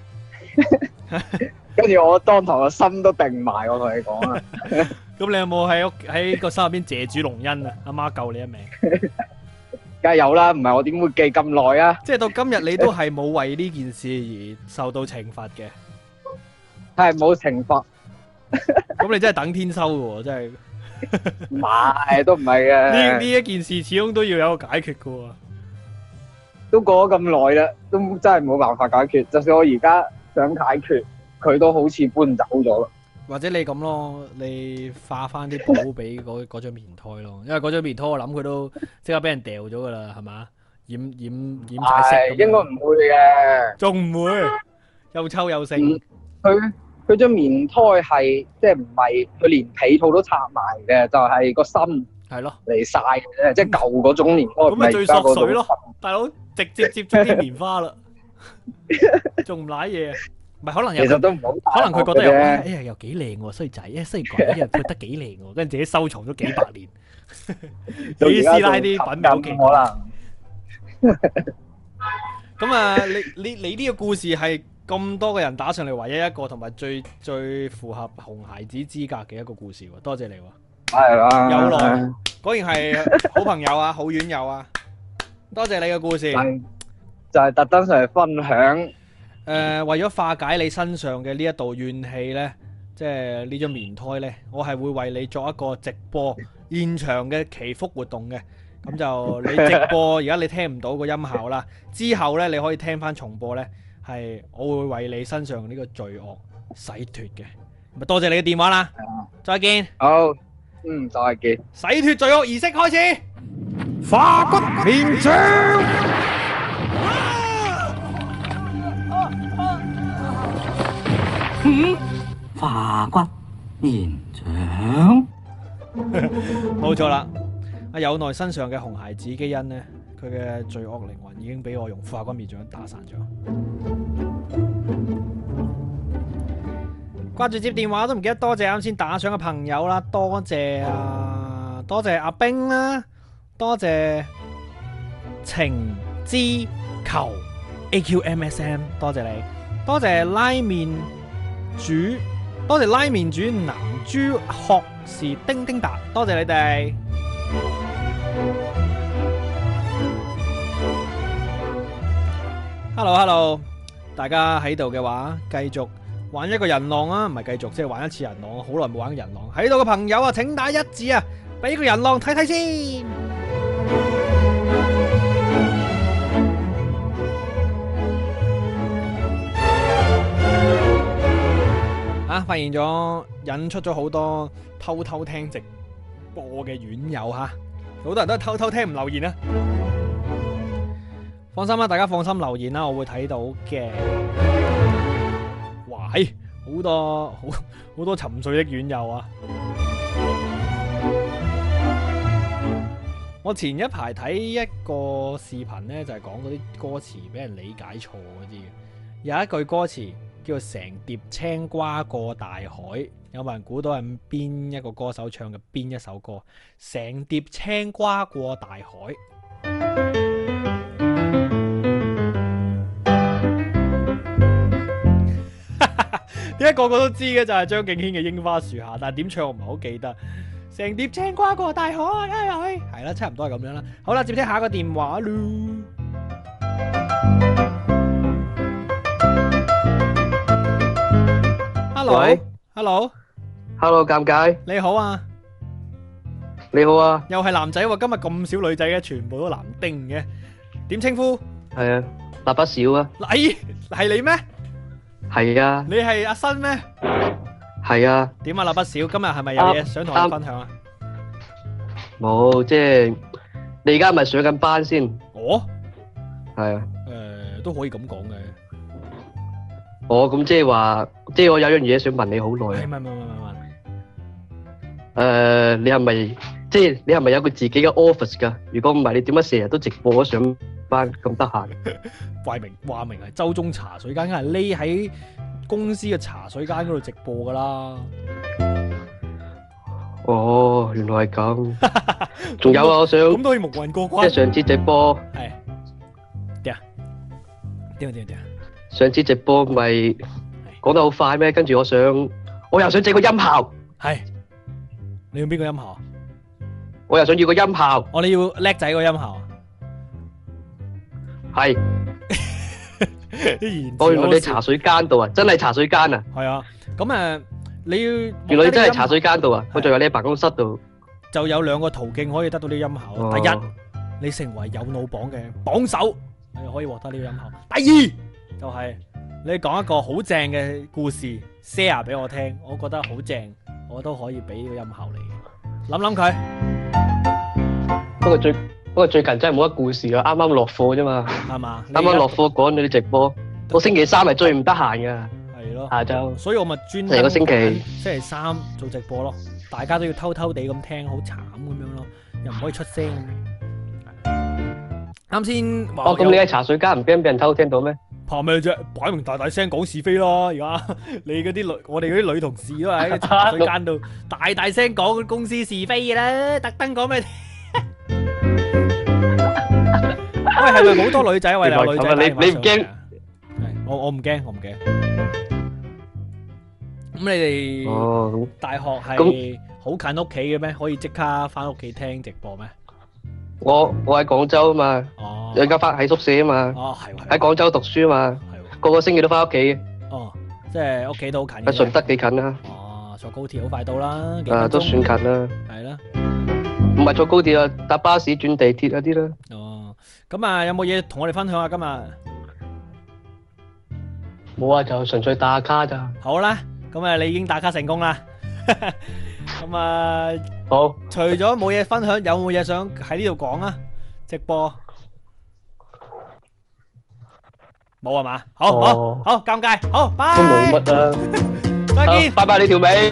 跟住我當堂個心都定埋，我同你講啊。 咁你有冇喺屋喺個心入邊謝主隆恩啊？阿媽救你一命。 梗係有啦，唔係我點會記咁耐啊？ 即係到今日你都係冇為呢件事而受到懲罰嘅， 係冇懲罰。 咁你真係等天收嘅喎，真係。 唔係，都唔係嘅。 呢呢一件事始終都要有個解決噶喎。 都過咗咁耐啦，都真係冇辦法解決。就算我而家想解決，佢都好似搬走咗啦。 或者你咁咯，你化翻啲寶俾嗰嗰張棉胎咯，因為嗰張棉胎我諗佢都即刻俾人掉咗噶啦，係嘛？染染染晒色咁樣。 應該唔會嘅， 仲唔會？又臭又剩。 佢佢張棉胎係即係唔係佢連被套都拆埋嘅，就係、是、個心係咯嚟晒嘅啫，即係舊嗰種棉胎。 咁咪最索水咯，大佬直接接觸啲棉花啦，仲唔瀨嘢？唔係可能有， 其實都唔好， 可能佢覺得又哎呀又幾靚喎衰仔，哎雖然講一日佢得幾靚喎，跟住自己收藏咗幾百年，啲師奶啲品味好勁。可能。咁啊，你你你呢個故事係咁多個人打上嚟，唯一一個同埋最最符合紅孩子資格嘅一個故事喎，多謝你喎。 係啦。 有來，果然係好朋友啊，好院友啊，多謝你嘅故事。 就係特登上嚟分享。 誒、呃，為咗化解你身上嘅呢一道怨氣呢，即係呢張棉胎呢，我係會為你作一個直播現場嘅祈福活動嘅。咁就你直播而家你聽唔到個音效啦，之後呢，你可以聽翻重播呢，係我會為你身上呢個罪惡洗脫嘅。咁多謝你嘅電話啦，再見。 好，嗯，再見。 洗脫罪惡儀式開始，化骨綿掌。 嗯，化骨綿掌， 冇錯啦。阿有奈身上嘅紅孩子基因呢，佢嘅罪惡靈魂已經俾我用化骨綿掌打散咗。掛住接電話都唔記得多謝啱先打賞嘅朋友啦，多謝啊，多謝阿冰啦，多謝情之球 A Q M S M， 多謝你，多謝拉麵煮，多謝拉麵煮南珠學士丁丁達，多謝你哋。Hello Hello， 大家喺度嘅話，繼續玩一個人浪啊，唔係繼續，即係玩一次人浪，好耐冇玩過人浪。喺度嘅朋友啊，請打一字啊，俾個人浪睇睇先。啊，發現咗引出咗好多偷偷聽直播嘅院友吓，好多人都係偷偷聽唔留言啊。放心啦，大家放心留言啦，我會睇到嘅。哇，好多好好多沉睡的院友啊！我前一排睇一個視頻呢，就係講嗰啲歌詞俾人理解錯嗰啲嘅。有一句歌詞叫做成碟青瓜過大海，有冇人估到係邊一個歌手唱嘅邊一首歌？成碟青瓜過大海。點解個個都知嘅就係張敬軒嘅櫻花樹下，但係點唱我唔係好記得。成碟青瓜過大海，係啦，差唔多係咁樣啦。好啦，接聽下一個電話咯。 Hello，Hello，Hello，尷尬。 你好啊， 你好啊。 又係男仔喎，今日咁少女仔嘅，全部都男丁嘅。點稱呼？ 係啊，蠟筆小啊。 係係你咩？ 係啊， 你係阿新咩？ 係啊。 點啊，蠟筆小，今日係咪有嘢想同我分享啊？ 冇，即係你而家係咪上緊班先？ 哦， 係啊。 誒，都可以咁講嘅。 哦，咁即係話，即係我有樣嘢想問你好耐啊。 係，問問問問問。 誒，你係咪即係你係咪有個自己嘅 office 噶？如果唔係，你點解成日都直播咗上班咁得閒？ 怪明話明係周中茶水間，梗係匿喺公司嘅茶水間嗰度直播噶啦。 哦，原來係咁。仲有啊，我想咁都可以蒙混過關。 即係上次直播係點啊？點啊點啊點啊！ 上次直播咪講得好快咩？跟住我想，我又想整個音效。 係你要邊個音效？ 我又想要個音效。 我哋要叻仔個音效。 係。我原來你茶水間度啊，真係茶水間啊。 係啊，咁誒， 你要原來你真係茶水間度啊！我仲有你喺辦公室度， 就有兩個途徑可以得到呢個音效。 哦、 第一，你成為有腦榜嘅榜首，你可以獲得呢個音效。第二，就係、是、你講一個好正嘅故事 share 俾我聽，我覺得好正，我都可以俾呢個音效你。諗諗佢。 不過最不過最近真係冇乜故事啊！啱啱落課啫嘛， 係嘛？ 啱啱落課趕你啲直播，我星期三係最唔得閒㗎。 係咯， 下晝， 所以我咪專成個星期星期三做直播咯，大家都要偷偷地咁聽，好慘咁樣咯，又唔可以出聲。啱先， 哦，咁你喺茶水間唔驚俾人偷聽到咩？ 怕咩啫？擺明大大聲講是非咯！而家你嗰啲女，我哋嗰啲女同事都係喺茶水間度大大聲講公司是非嘅啦，特登講咩？喂，係咪好多女仔？喂，有女仔， 你你唔驚？ 我我唔驚，我唔驚。咁你哋大學係好近屋企嘅咩？可以即刻翻屋企聽直播咩？ 我我喺廣州啊嘛，而家翻喺宿舍啊嘛，喺廣州讀書啊嘛，個個星期都翻屋企。 哦，即係屋企都好近。 喺順德幾近啊？ 哦，坐高鐵好快到啦。 啊，都算近啦。 係啦。 唔係坐高鐵啊，搭巴士轉地鐵嗰啲啦。 哦，咁啊，有冇嘢同我哋分享下今日？ 冇啊，就純粹打下卡咋。 好啦，咁啊，你已經打卡成功啦。咁啊， 好。 除咗冇嘢分享，有冇嘢想喺呢度講啊？直播冇係嘛？好好好，尷尬，好，拜。 都冇乜啊。 再見， 拜拜你條尾。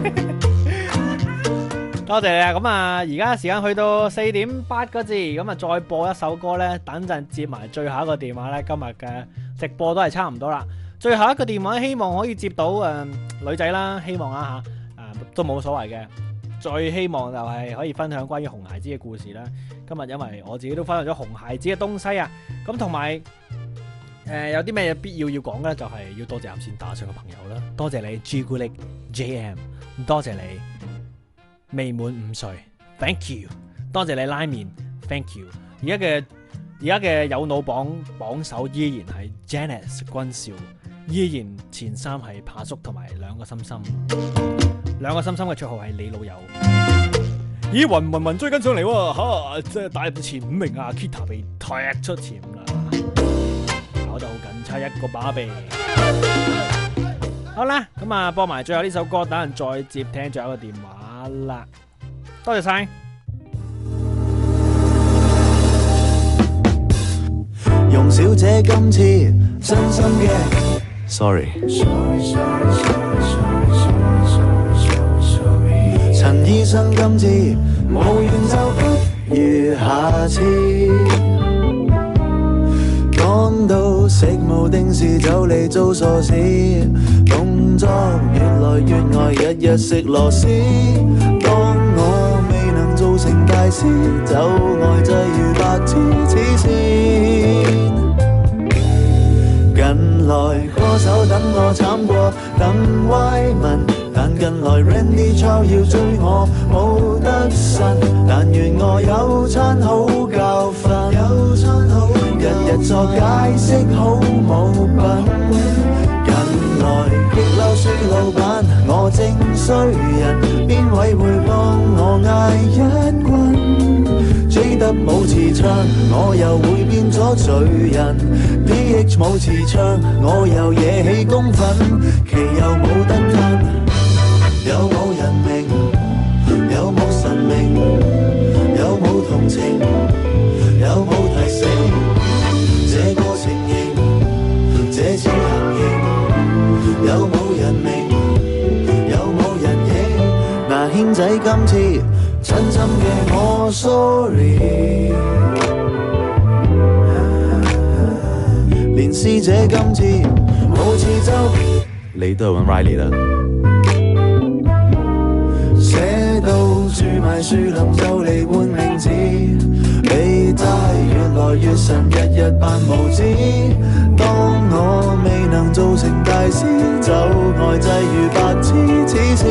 多謝你啊！咁啊，而家時間去到四點八個字，咁啊，再播一首歌咧，等陣接埋最後一個電話咧。今日嘅直播都係差唔多啦。最後一個電話，希望可以接到誒、呃、女仔啦，希望啊吓，誒、呃、都冇所謂嘅。最希望就係可以分享關於紅孩子嘅故事啦。今日因為我自己都分享咗紅孩子嘅東西啊，咁同埋誒有啲咩必要要講咧，就係、是、要多謝啱先打上嘅朋友啦。多謝你朱古力 J M， 多謝你。未滿五歲 ，thank you， 多謝你拉麵 ，thank you。而家嘅而家嘅有腦榜榜首依然係 Janice 君少，依然前三係扒叔同埋兩個心心，兩個心心嘅綽號係你老友。咦，雲雲雲追緊上嚟喎，吓即係打入前五名啊 ！Kita 被踢出前五啦，搞得好緊差一個把臂。好啦，咁啊播埋最後呢首歌，等陣再接聽最後一個電話。啦，多謝晒。 容小姐今次真心嘅 ，sorry。陳醫生今次無緣就不如下次。講到食無定時就嚟做傻事，動作越來越呆，日日食螺絲。當我未能做成大師，就呆滯如白痴黐線。近來歌手等我慘過等歪文，但近來 Randy Chow 要追我冇得呻，但願我有餐好教訓，有餐好日日作解釋好冇品。近來激嬲輸老闆，我正衰人，邊位會幫我嗌一棍？追得冇磁場，我又會變咗罪人。P H 冇磁場，我又惹起公憤，其又冇得吞。有冇人明？有冇神明？有冇同情？有冇提醒？這個情形，這次行刑，有冇人明？有冇人應？嗱，軒仔今次真心嘅我 sorry， 連師姐今次冇次周，你都係揾 Riley 啦。寫到住埋樹林就嚟換名字，被責越來越神，日日扮無知。當我未能做成大師，就呆滯如白痴黐線。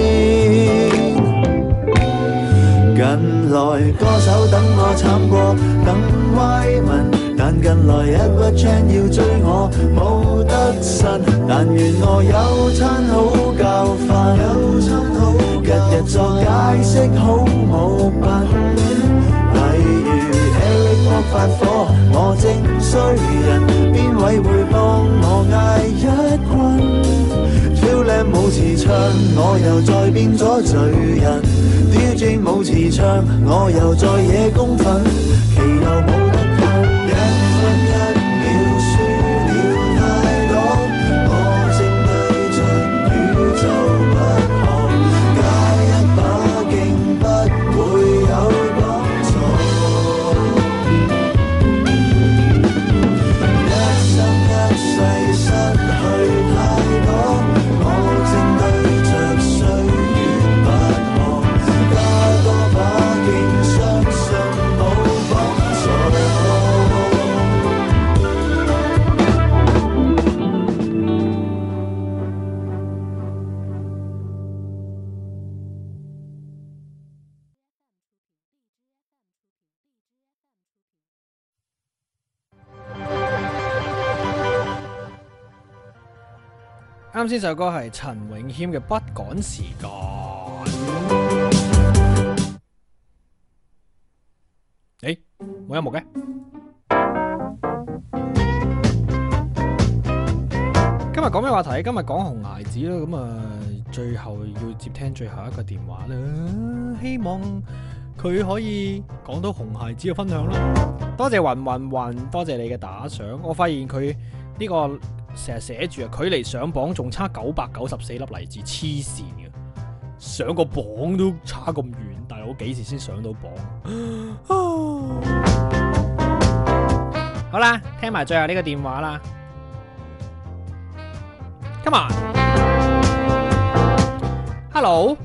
近來歌手等我慘過等歪文，但近來 Edward Chan 要追我冇得呻，但願我有餐好教訓。 作解釋好冇品。例如 Eric 幫發火，我正衰人，邊位會幫我嗌一棍？超靚冇磁場，我又再變咗罪人。D J 冇磁場，我又再惹公憤，其又冇得救，一分一秒輸了太多，我正對着宇宙不可，加一把勁不會有幫助，一生一世失去太多，我正對着歲月不可，加多把勁相信冇幫助。 啱先首歌係陳詠謙嘅《不趕時間》。誒，冇音樂嘅。今日講咩話題？今日講紅孩子啦，咁啊，最後要接聽最後一個電話啦。希望佢可以講到紅孩子嘅分享啦。多謝雲雲雲，多謝你嘅打賞。我發現佢呢個成日寫住啊，距離上榜仲差九百九十四粒荔枝，黐線嘅，上個榜都差咁遠，大佬幾時先上到榜？好啦，聽埋最後呢個電話啦。Come on，Hello，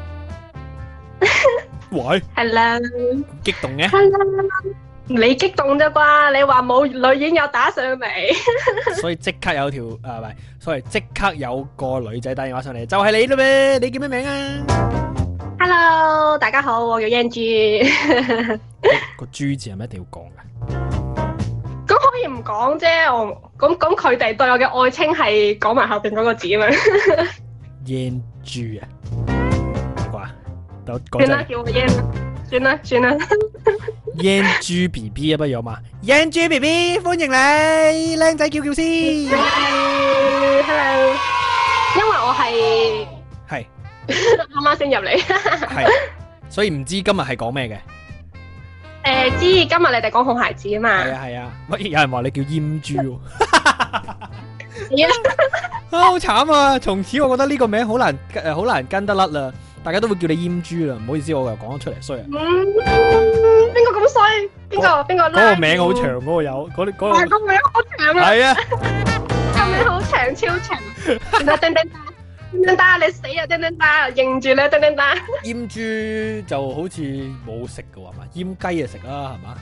喂 ，Hello， 激動嘅 ，Hello，你激動啫啩？你話冇女演有打上嚟， 所以即刻有條誒唔係，所以即刻有個女仔打電話上嚟，就係你啦咩？你叫咩名啊 ？Hello，大家好，我叫 Yan 豬。 個豬字係咪一定要講㗎？ 咁可以唔講啫，我咁咁佢哋對我嘅愛稱係講埋後邊嗰個字啊嘛。 Yan 豬啊，啩？ 算啦，叫我 Yan 啦，算啦算啦。 Yan 豬 B B 啊，不如好嘛 ？Yan 豬 B B， 歡迎你，靚仔叫叫先。 Hello， 因為我係係啱啱先入嚟， 係，所以唔知今日係講咩嘅。 誒，知今日你哋講紅孩子啊嘛。 係啊係啊，乜有人話你叫閹豬喎？ 係啊， 啊好慘啊！從此我覺得呢個名好難誒，好難跟得甩啦。大家都會叫你閹豬啦，唔好意思，我又講咗出嚟衰啊！ 邊個咁衰？邊個邊個？ 嗰個名好長，嗰個有嗰啲嗰個。 係個名好長啊！ 係啊， 個名好長，超長。叮叮叮叮叮打，你死啊！叮叮打，認住你叮叮打。 閹豬就好似冇食嘅話嘛，閹雞就食啦，係嘛？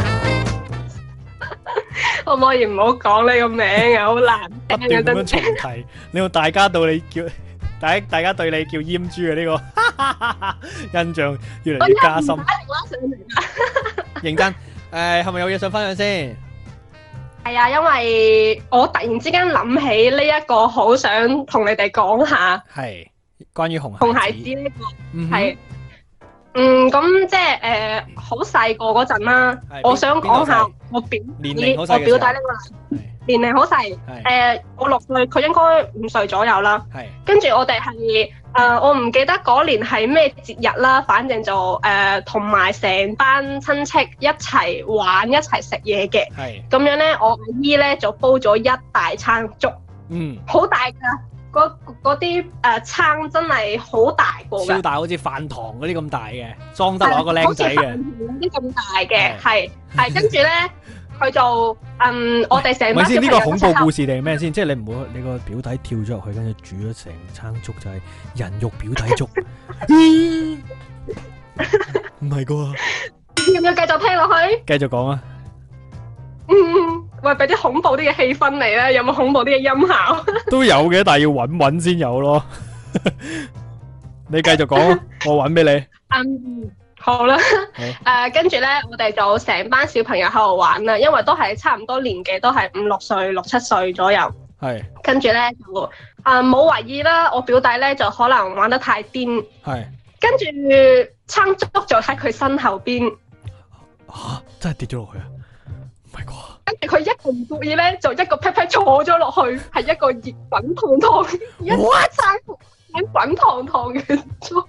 可唔可以唔好講呢個名啊？好難。 不斷咁樣重提，你用大家到你叫。大大家對你叫閹豬嘅呢個印象越嚟越加深。認真，誒係咪有嘢想分享先？ 係啊，因為我突然之間諗起呢一個，好想同你哋講下。 係關於紅紅孩子呢個係，嗯咁即係誒好細個嗰陣啦。我想講下我表我表弟呢個。年齡好細，誒我六歲，佢應該五歲左右啦。係，跟住我哋係誒，我唔記得嗰年係咩節日啦，反正就誒同埋成班親戚一齊玩，一齊食嘢嘅。係，咁樣咧，我阿姨咧就煲咗一大餐粥，嗯，好大㗎，嗰嗰啲誒餐真係好大個㗎， 超大，好似飯堂嗰啲咁大嘅，裝得落個僆仔嘅，好似飯堂啲咁大嘅，係係跟住咧。佢就嗯，我哋成班小朋友呢個恐怖故事定係咩先？即係你唔好你個表弟跳咗入去，跟住煮咗成餐粥，就係人肉表弟粥。唔係啩？ 要唔要繼續聽落去？ 繼續講啊！ 嗯，喂，俾啲恐怖啲嘅氣氛嚟咧，有冇恐怖啲嘅音效？ 都有嘅，但係要搵搵先有咯。你繼續講，我搵俾你。 嗯。好啦，誒跟住咧，我哋就成班小朋友喺度玩啦，因為都係差唔多年紀，都係五六歲、六七歲左右。係。跟住咧就誒冇懷疑啦，我表弟咧就可能玩得太癲。係。 跟住撐竹就喺佢身後邊。 嚇！真係跌咗落去啊！唔係啩？ 跟住佢一個唔注意咧，就一個 pat pat 坐咗落去，係一個熱滾燙燙、一餐滾滾燙燙嘅粥。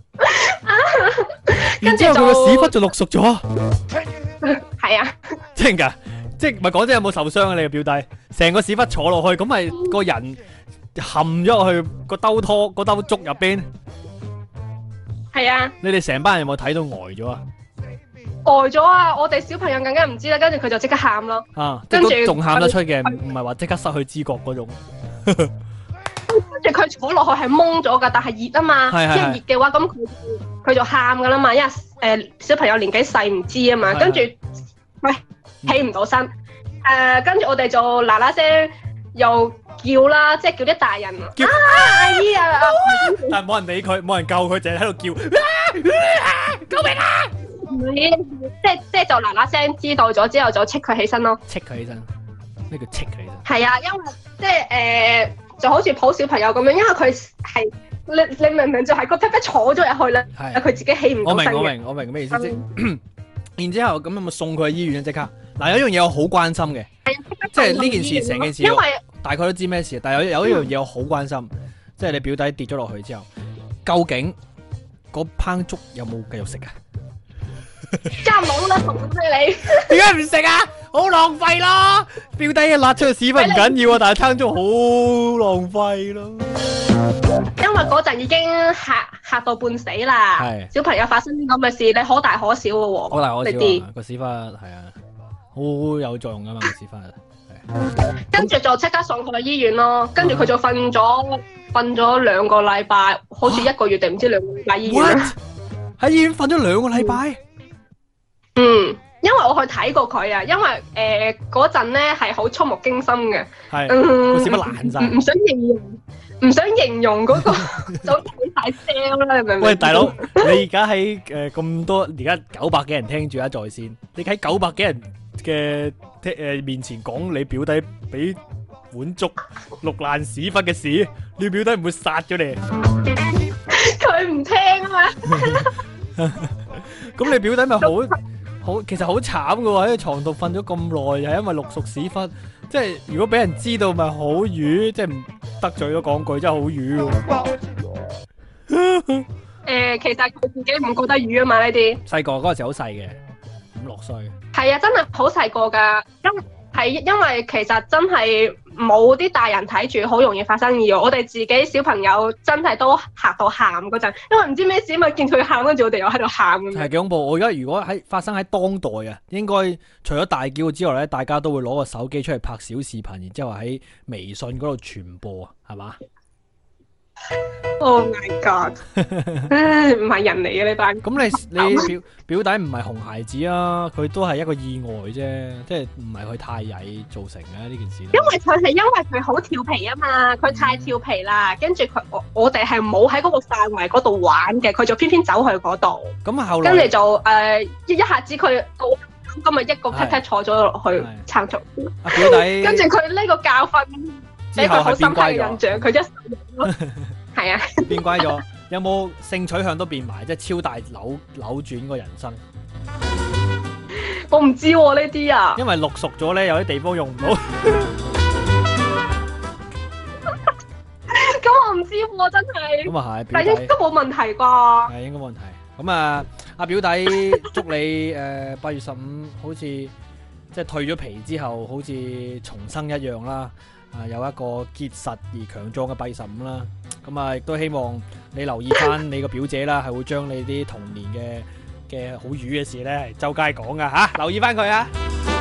然之後佢個屎忽就淥熟咗。 係啊， 真㗎，即係唔係講真有冇受傷啊？你個表弟成個屎忽坐落去，咁咪個人冚咗落去個兜拖個兜粥入邊。 係啊。 你哋成班人有冇睇到呆咗啊？ 呆咗啊！我哋小朋友更加唔知啦，跟住佢就即刻喊咯。 啊，跟住仲喊得出嘅，唔係話即刻失去知覺嗰種。跟住佢坐落去係懵咗噶，但係熱啊嘛，一熱嘅話咁佢佢就喊噶啦嘛，因為誒、呃、小朋友年紀細唔知啊嘛，跟住喂起唔到身，誒、呃、跟住我哋就嗱嗱聲又叫啦，即係叫啲大人叫啊阿姨啊， 但係冇人理佢，冇人救佢，淨係喺度叫，啊、救命啊！ 即係即係就嗱嗱聲知道咗之後就戚佢起身咯， 戚佢起身，咩叫戚佢起身？ 係啊，因為即係誒。呃就好似抱小朋友咁樣，因為佢係你你明明就係個 pat pat 坐咗入去啦，佢自己起唔到身嘅。 我明我明我明咩意思啫？然之後咁有冇送佢去醫院啊？即刻嗱，有一樣嘢我好關心嘅，即係呢件事成件事，因為大概都知咩事，但係有有一樣嘢我好關心，即係你表弟跌咗落去之後，究竟嗰烹粥有冇繼續食啊？ 梗係冇啦，送俾你。 點解唔食啊？好浪費咯！表弟一辣出個屎忽唔緊要啊，但係撐粥好浪費咯。 因為嗰陣已經嚇嚇到半死啦。係。小朋友發生啲咁嘅事，你可大可小嘅喎。 可大可小啊！個屎忽係啊，好有作用噶嘛個屎忽。係。 跟住就即刻送佢去醫院咯，跟住佢就瞓咗瞓咗兩個禮拜，好似一個月定唔知兩個禮拜醫院啦。 喺醫院瞓咗兩個禮拜。 嗯，因為我去睇過佢啊，因為誒嗰陣咧係好觸目驚心嘅， 係， 嗯， 個屎忽爛晒， 唔想形容，唔想形容嗰個就睇晒聲啦，你明唔明？ 喂，大佬，你而家喺誒咁多，而家九百幾人聽住啊在線，你喺九百幾人嘅誒面前講你表弟俾碗粥淥爛屎忽嘅事，你表弟唔會殺咗你？ 佢唔聽啊嘛， 咁你表弟咪好？好，其實好慘噶喎，喺床度瞓咗咁耐，又係因為淥熟屎忽，即係如果俾人知道咪好瘀，即係唔得罪咗講句，真係好瘀喎。 誒，其實佢自己唔覺得瘀啊嘛呢啲。 細個嗰陣時好細嘅，五六歲。 係啊，真係好細個噶，因係因為其實真係冇啲大人睇住，好容易發生意外。我哋自己小朋友真係都嚇到喊嗰陣，因為唔知咩事嘛，見佢喊，跟住我哋又喺度喊咁樣。 係幾恐怖！我而家如果喺發生喺當代啊，應該除咗大叫之外咧，大家都會攞個手機出嚟拍小視頻，然之後喺微信嗰度傳播啊，係嘛？ Oh my god！ 唉，唔係人嚟嘅呢班。 咁你你表表弟唔係熊孩子啊，佢都係一個意外啫，即係唔係佢太曳造成嘅呢件事。 因為佢係因為佢好調皮啊嘛，佢太調皮啦，跟住佢我我哋係冇喺嗰個範圍嗰度玩嘅，佢就偏偏走去嗰度。 咁後來跟住就誒一一下子佢到今日一個 pat pat 坐咗落去撐住。 阿表弟， 跟住佢呢個教訓俾佢好深刻嘅印象，佢一係啊， 變乖咗。有冇性取向都變埋，即係超大扭扭轉個人生？ 我唔知喎呢啲啊， 因為淥熟咗咧，有啲地方用唔到。 咁我唔知喎，真係。 咁啊係， 但係應該冇問題啩？ 係應該冇問題。咁啊，阿表弟祝你誒八月十五好似即係退咗皮之後，好似重生一樣啦。啊，有一個結實而強壯嘅八月十五啦，咁啊亦都希望你留意翻你個表姐啦，係會將你啲童年嘅嘅好瘀嘅事咧，係周街講噶吓，留意翻佢啊！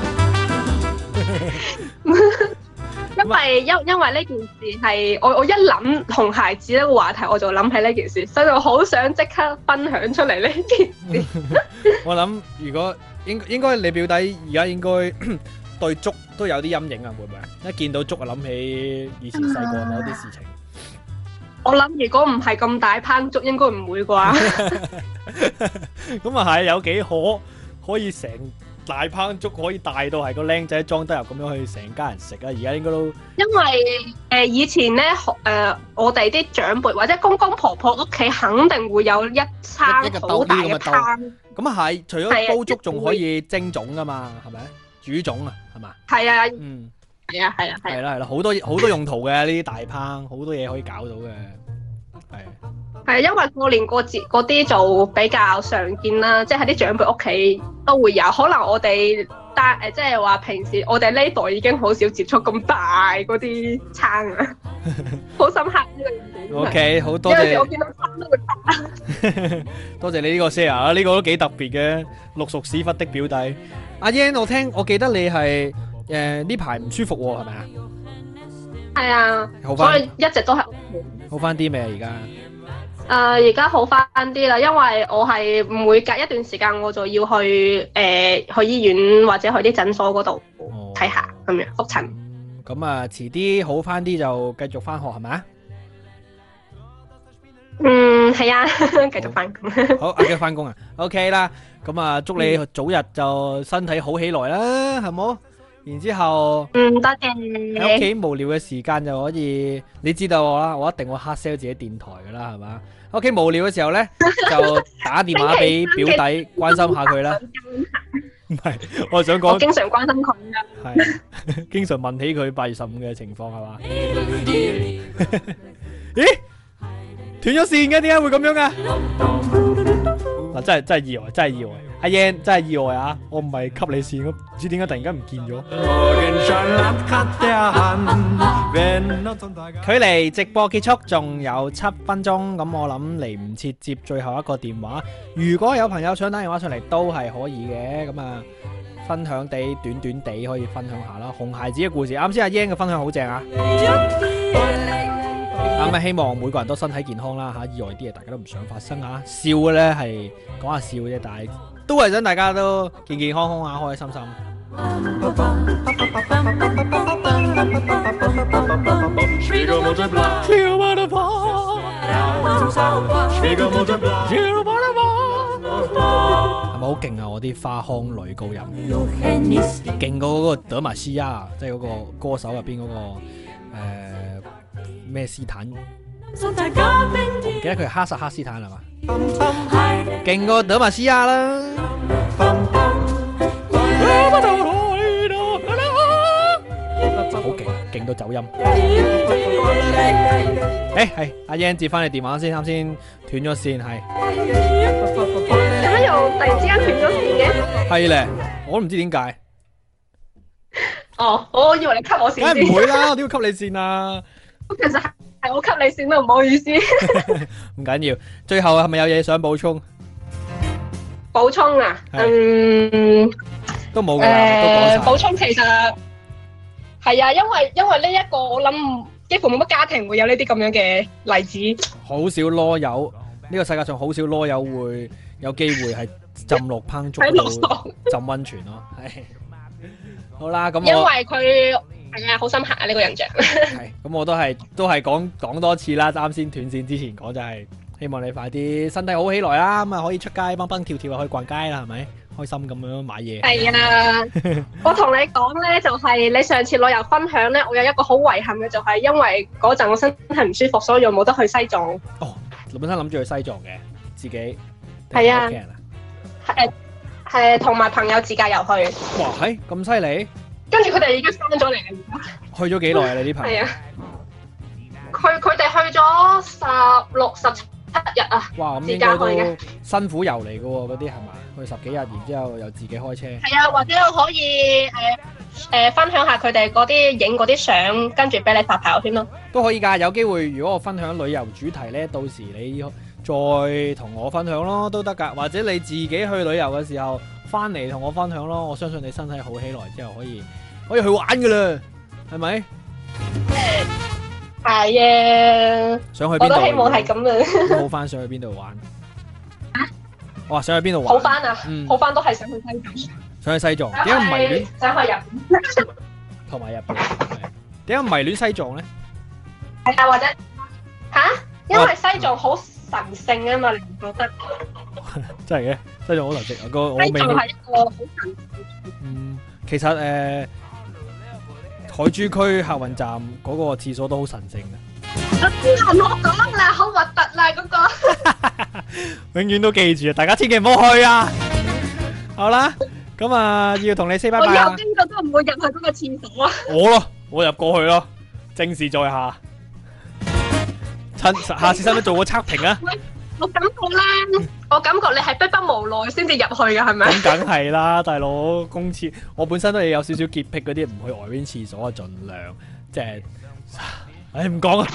因為因因為呢件事係我我一諗熊孩子呢個話題，我就諗起呢件事，所以我好想即刻分享出嚟呢件事。 我諗如果應應該你表弟而家應該。對粥都有啲陰影啊，會唔會？一見到粥啊，諗起以前細個某啲事情。 我諗如果唔係咁大烹粥，應該唔會啩。 咁啊係，有幾可可以成大烹粥可以大到係個僆仔裝得入咁樣去成家人食啊？而家應該都因為誒以前咧誒我哋啲長輩或者公公婆婆屋企肯定會有一餐好大嘅湯。 咁啊係，除咗煲粥仲可以蒸粽噶嘛，係咪？煮粽啊，係嘛？ 係啊， 嗯， 係啊，係啊， 係啦係啦，好多好多用途嘅呢啲大烹，好多嘢可以搞到嘅，係。 係因為過年過節嗰啲就比較常見啦，即係喺啲長輩屋企都會有。可能我哋但誒即係話平時我哋呢代已經好少接觸咁大嗰啲餐啊，好深刻呢個印象。 O K， 好多謝。 有時我見到餐都會打。 多謝你呢個 share 啊，呢個都幾特別嘅。六熟屎忽的表弟阿 Yan， 我聽我記得你係誒呢排唔舒服喎，係咪啊？ 係啊， 好返， 所以一直都係好翻啲未啊？而家？ 誒而家好翻啲啦，因為我係每隔一段時間我就要去誒、呃、去醫院或者去啲診所嗰度睇下咁樣覆診。 咁啊，遲啲好翻啲就繼續翻學係咪啊？ 嗯，係啊，繼續翻工。 好，繼續翻工啊 ，OK 啦。咁啊，祝你早日就身體好起來啦，係冇？然之後， 嗯，多謝。 喺屋企無聊嘅時間就可以，你知道我啦，我一定會 hard sell 自己電台噶啦，係嘛？屋企無聊嘅時候咧，就打電話俾表弟關心下佢啦。唔係，我想講， 我經常關心佢噶。 係，經常問起佢八月十五嘅情況係嘛？咦？斷咗線嘅，點解會咁樣噶？嗱，真係真係意外，真係意外。阿 Yan 真係意外啊！我唔係吸你線，唔知點解突然間唔見咗。距離直播結束仲有七分鐘，咁我諗嚟唔切接最後一個電話。如果有朋友想打電話上嚟，都係可以嘅。咁啊，分享地短短地可以分享下啦。紅孩子嘅故事，啱先阿 Yan 嘅分享好正啊！咁啊，希望每個人都身體健康啦吓，意外啲嘢大家都唔想發生啊。笑嘅咧係講下笑啫，但係都係想大家都健健康康啊，開開心心。係咪好勁啊？我啲花腔女高音，勁過嗰個德瑪西亞，即係嗰個歌手入邊嗰個誒。咩斯坦？我唔記得佢係哈薩克斯坦係嘛？勁過德瑪西亞啦！好勁，勁到走音。誒係阿 Yan 接翻你電話先，啱先斷咗線係。 點解又突然之間斷咗線嘅？ 係咧，我都唔知點解。 哦，我以為你 cut 我線先。 梗係唔會啦，我點會 cut 你線啊？ 其實係我 cut 你線都唔好意思。 唔緊要，最後係咪有嘢想補充？ 補充啊，嗯， 都冇噶啦。 誒，補充其實係啊，因為因為呢一個我諗幾乎冇乜家庭會有呢啲咁樣嘅例子。 好少囉柚，呢個世界上好少囉柚會有機會係浸落烹粥度浸溫泉咯。係。好啦，咁我因為佢係啊，好深刻啊呢個印象。 係，咁我都係都係講講多次啦。啱先斷線之前講就係希望你快啲身體好起來啦，咁啊可以出街蹦蹦跳跳去逛街啦，係咪？開心咁樣買嘢。係啊，我同你講咧，就係你上次旅遊分享咧，我有一個好遺憾嘅，就係因為嗰陣我身體唔舒服，所以我冇得去西藏。 哦，你本身諗住去西藏嘅，自己係啊，誒。係同埋朋友自駕遊去。 哇，係咁犀利！ 跟住佢哋已經翻咗嚟啦。 去咗幾耐啊？你啲朋友？係啊， 佢佢哋去咗十六十七日啊。 哇，咁應該都辛苦遊嚟嘅喎，嗰啲係咪？去十幾日，然之後又自己開車。 係啊，或者可以誒誒、呃呃、分享下佢哋嗰啲影嗰啲相，跟住俾你發朋友圈咯。 都可以㗎，有機會如果我分享旅遊主題咧，到時你再同我分享咯，都得噶。或者你自己去旅遊嘅時候，翻嚟同我分享咯。我相信你身體好起來之後，可以可以去玩噶啦，係咪？ 係啊。想去邊度？我都希望係咁啊。 好翻，想去邊度玩？啊？我話想去邊度玩？ 好翻啊！嗯、好翻都係想去西藏。 想去西藏？點解唔迷戀？ 想去日本。 同埋日本。點解唔迷戀西藏咧？ 係啊，或者吓？因為西藏好神聖啊嘛，你唔覺得？ 真係嘅， 西藏好神聖，個我未去。 西藏係一個好神。 嗯，其實誒、呃，海珠區客運站嗰個廁所都好神聖嘅。 唔好講啦，好核突啦嗰個。 永遠都記住啊！大家千祈唔好去啊！好啦，咁啊要同你 say 拜拜啦。 我以後邊個都唔會入去嗰個廁所啊！ 我咯，我入過去咯，正事在下。趁下次使唔使做個測評啊？ 我感覺咧，我感覺你係逼不無奈先至入去嘅，係咪？ 咁梗係啦，大佬公廁，我本身都有少少潔癖嗰啲，唔去外邊廁所啊，盡量即係，唉唔講啊。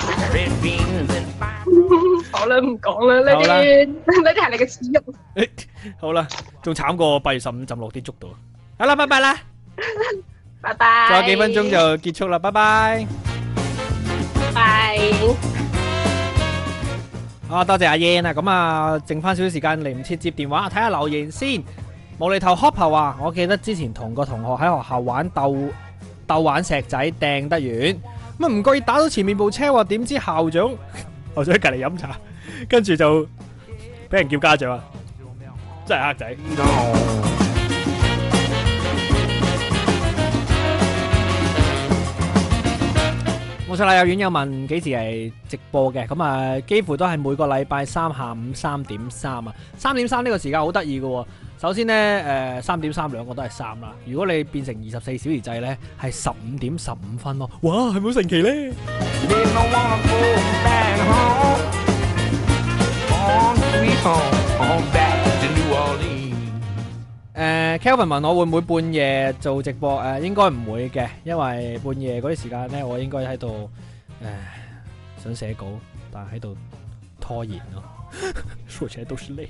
好啦，唔講啦，呢啲呢啲係你嘅恥辱。 好啦，仲慘過八月十五浸落啲竹度。好啦，拜拜啦， 拜拜。 仲有幾分鐘就結束啦，拜拜。 拜。 啊，多謝阿 Yan 啊，咁啊，剩翻少少時間嚟唔切接電話，睇下留言先。無厘頭 Hopper 話，我記得之前同個同學喺學校玩鬥鬥玩石仔，掟得遠，咁啊唔覺意打到前面部車喎，點知校長校長喺隔籬飲茶，跟住就俾人叫家長啊，真係黑仔。冇錯啦，有院友問幾時係直播嘅，咁啊幾乎都係每個禮拜三下午三點三啊，三點三呢個時間好得意嘅。首先呢，誒三點三兩個都係三啦，如果你變成二十四小時制呢，係十五點十五分咯。哇，係咪好神奇呢？誒 Kelvin 問我會唔會半夜做直播？誒應該唔會嘅，因為半夜嗰啲時間咧，我應該喺度誒想寫稿，但係喺度拖延咯。說起來都是淚。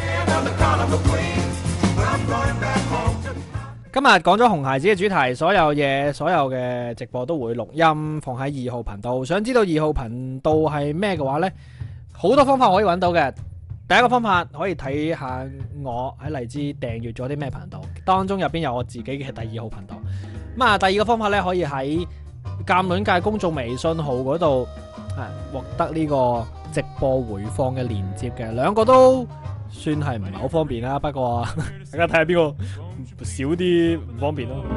今日講咗紅孩子嘅主題，所有嘢，所有嘅直播都會錄音放喺二號頻道。想知道二號頻道係咩嘅話咧，好多方法可以揾到嘅。第一個方法可以睇下我喺荔枝訂閱咗啲咩頻道，當中入邊有我自己嘅第二號頻道。咁啊，第二個方法咧可以喺鑑論界公眾微信號嗰度啊獲得呢個直播回放嘅連接嘅，兩個都算係唔係好方便啦。不過大家睇下邊個少啲唔方便咯。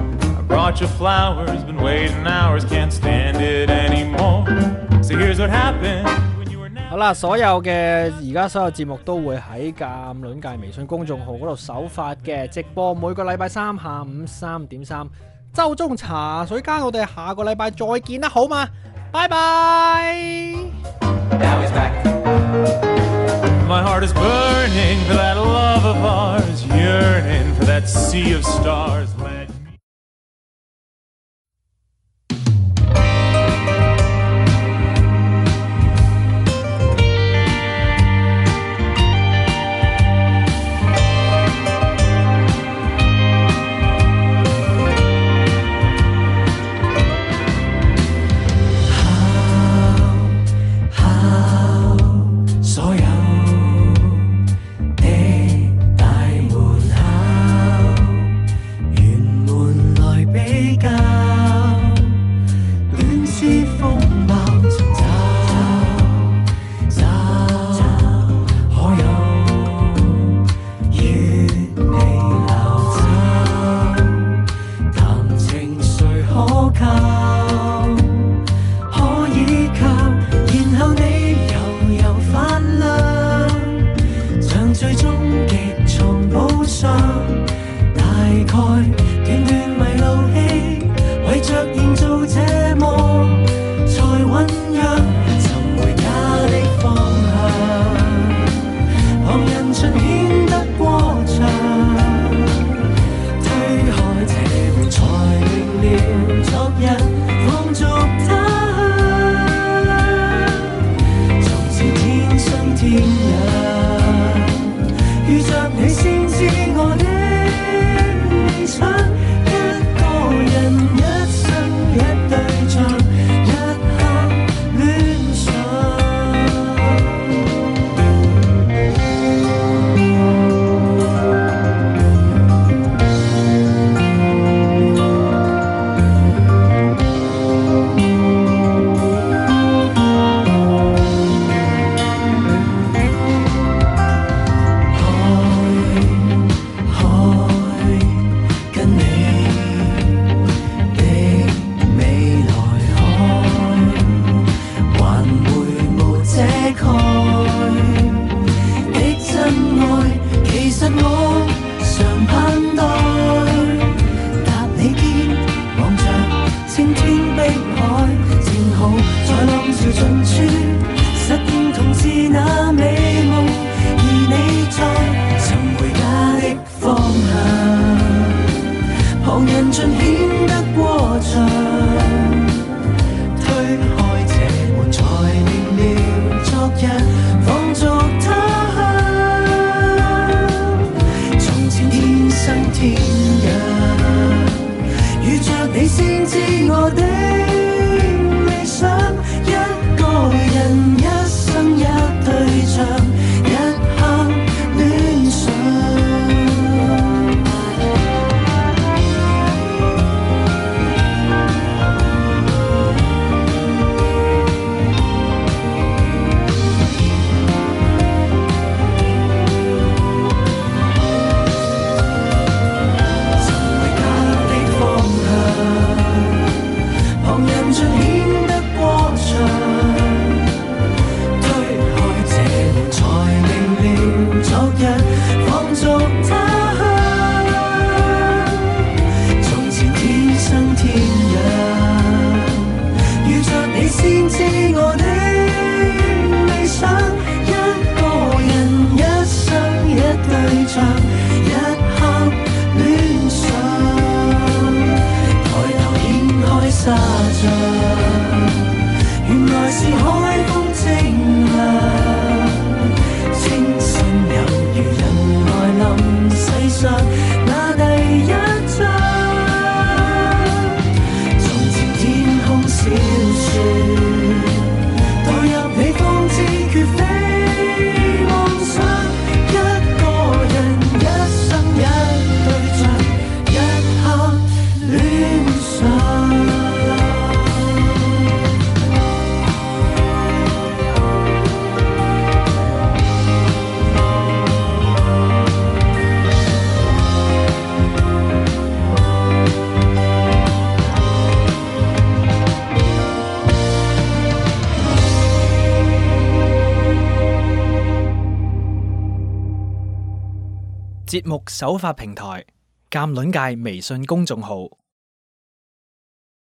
好啦，所有嘅而家所有節目都會喺鑑論界微信公眾號嗰度首發嘅直播，每個禮拜三下午三點三，周中茶水間，我哋下個禮拜再見啦，好嘛？拜拜。My heart is burning for that love of ours, yearning for that sea of stars. 開的真愛，其實我常盼待搭你肩，望着青天碧海，正好在浪潮盡處實現同是那美夢，而你在尋回家的方向，旁人盡顯得過場，推開這門才明了昨日放逐他鄉，從前天生天養，遇着你先知我的理想，一個人一生一對象，一刻戀上。沙像，原來是海風清涼，清新猶如人來臨世上那第一章。從前天空小樹，墮入你方知絕非妄想，一個人一生一對象，一刻戀上。 節目首發平台：鑑論界微信公眾號。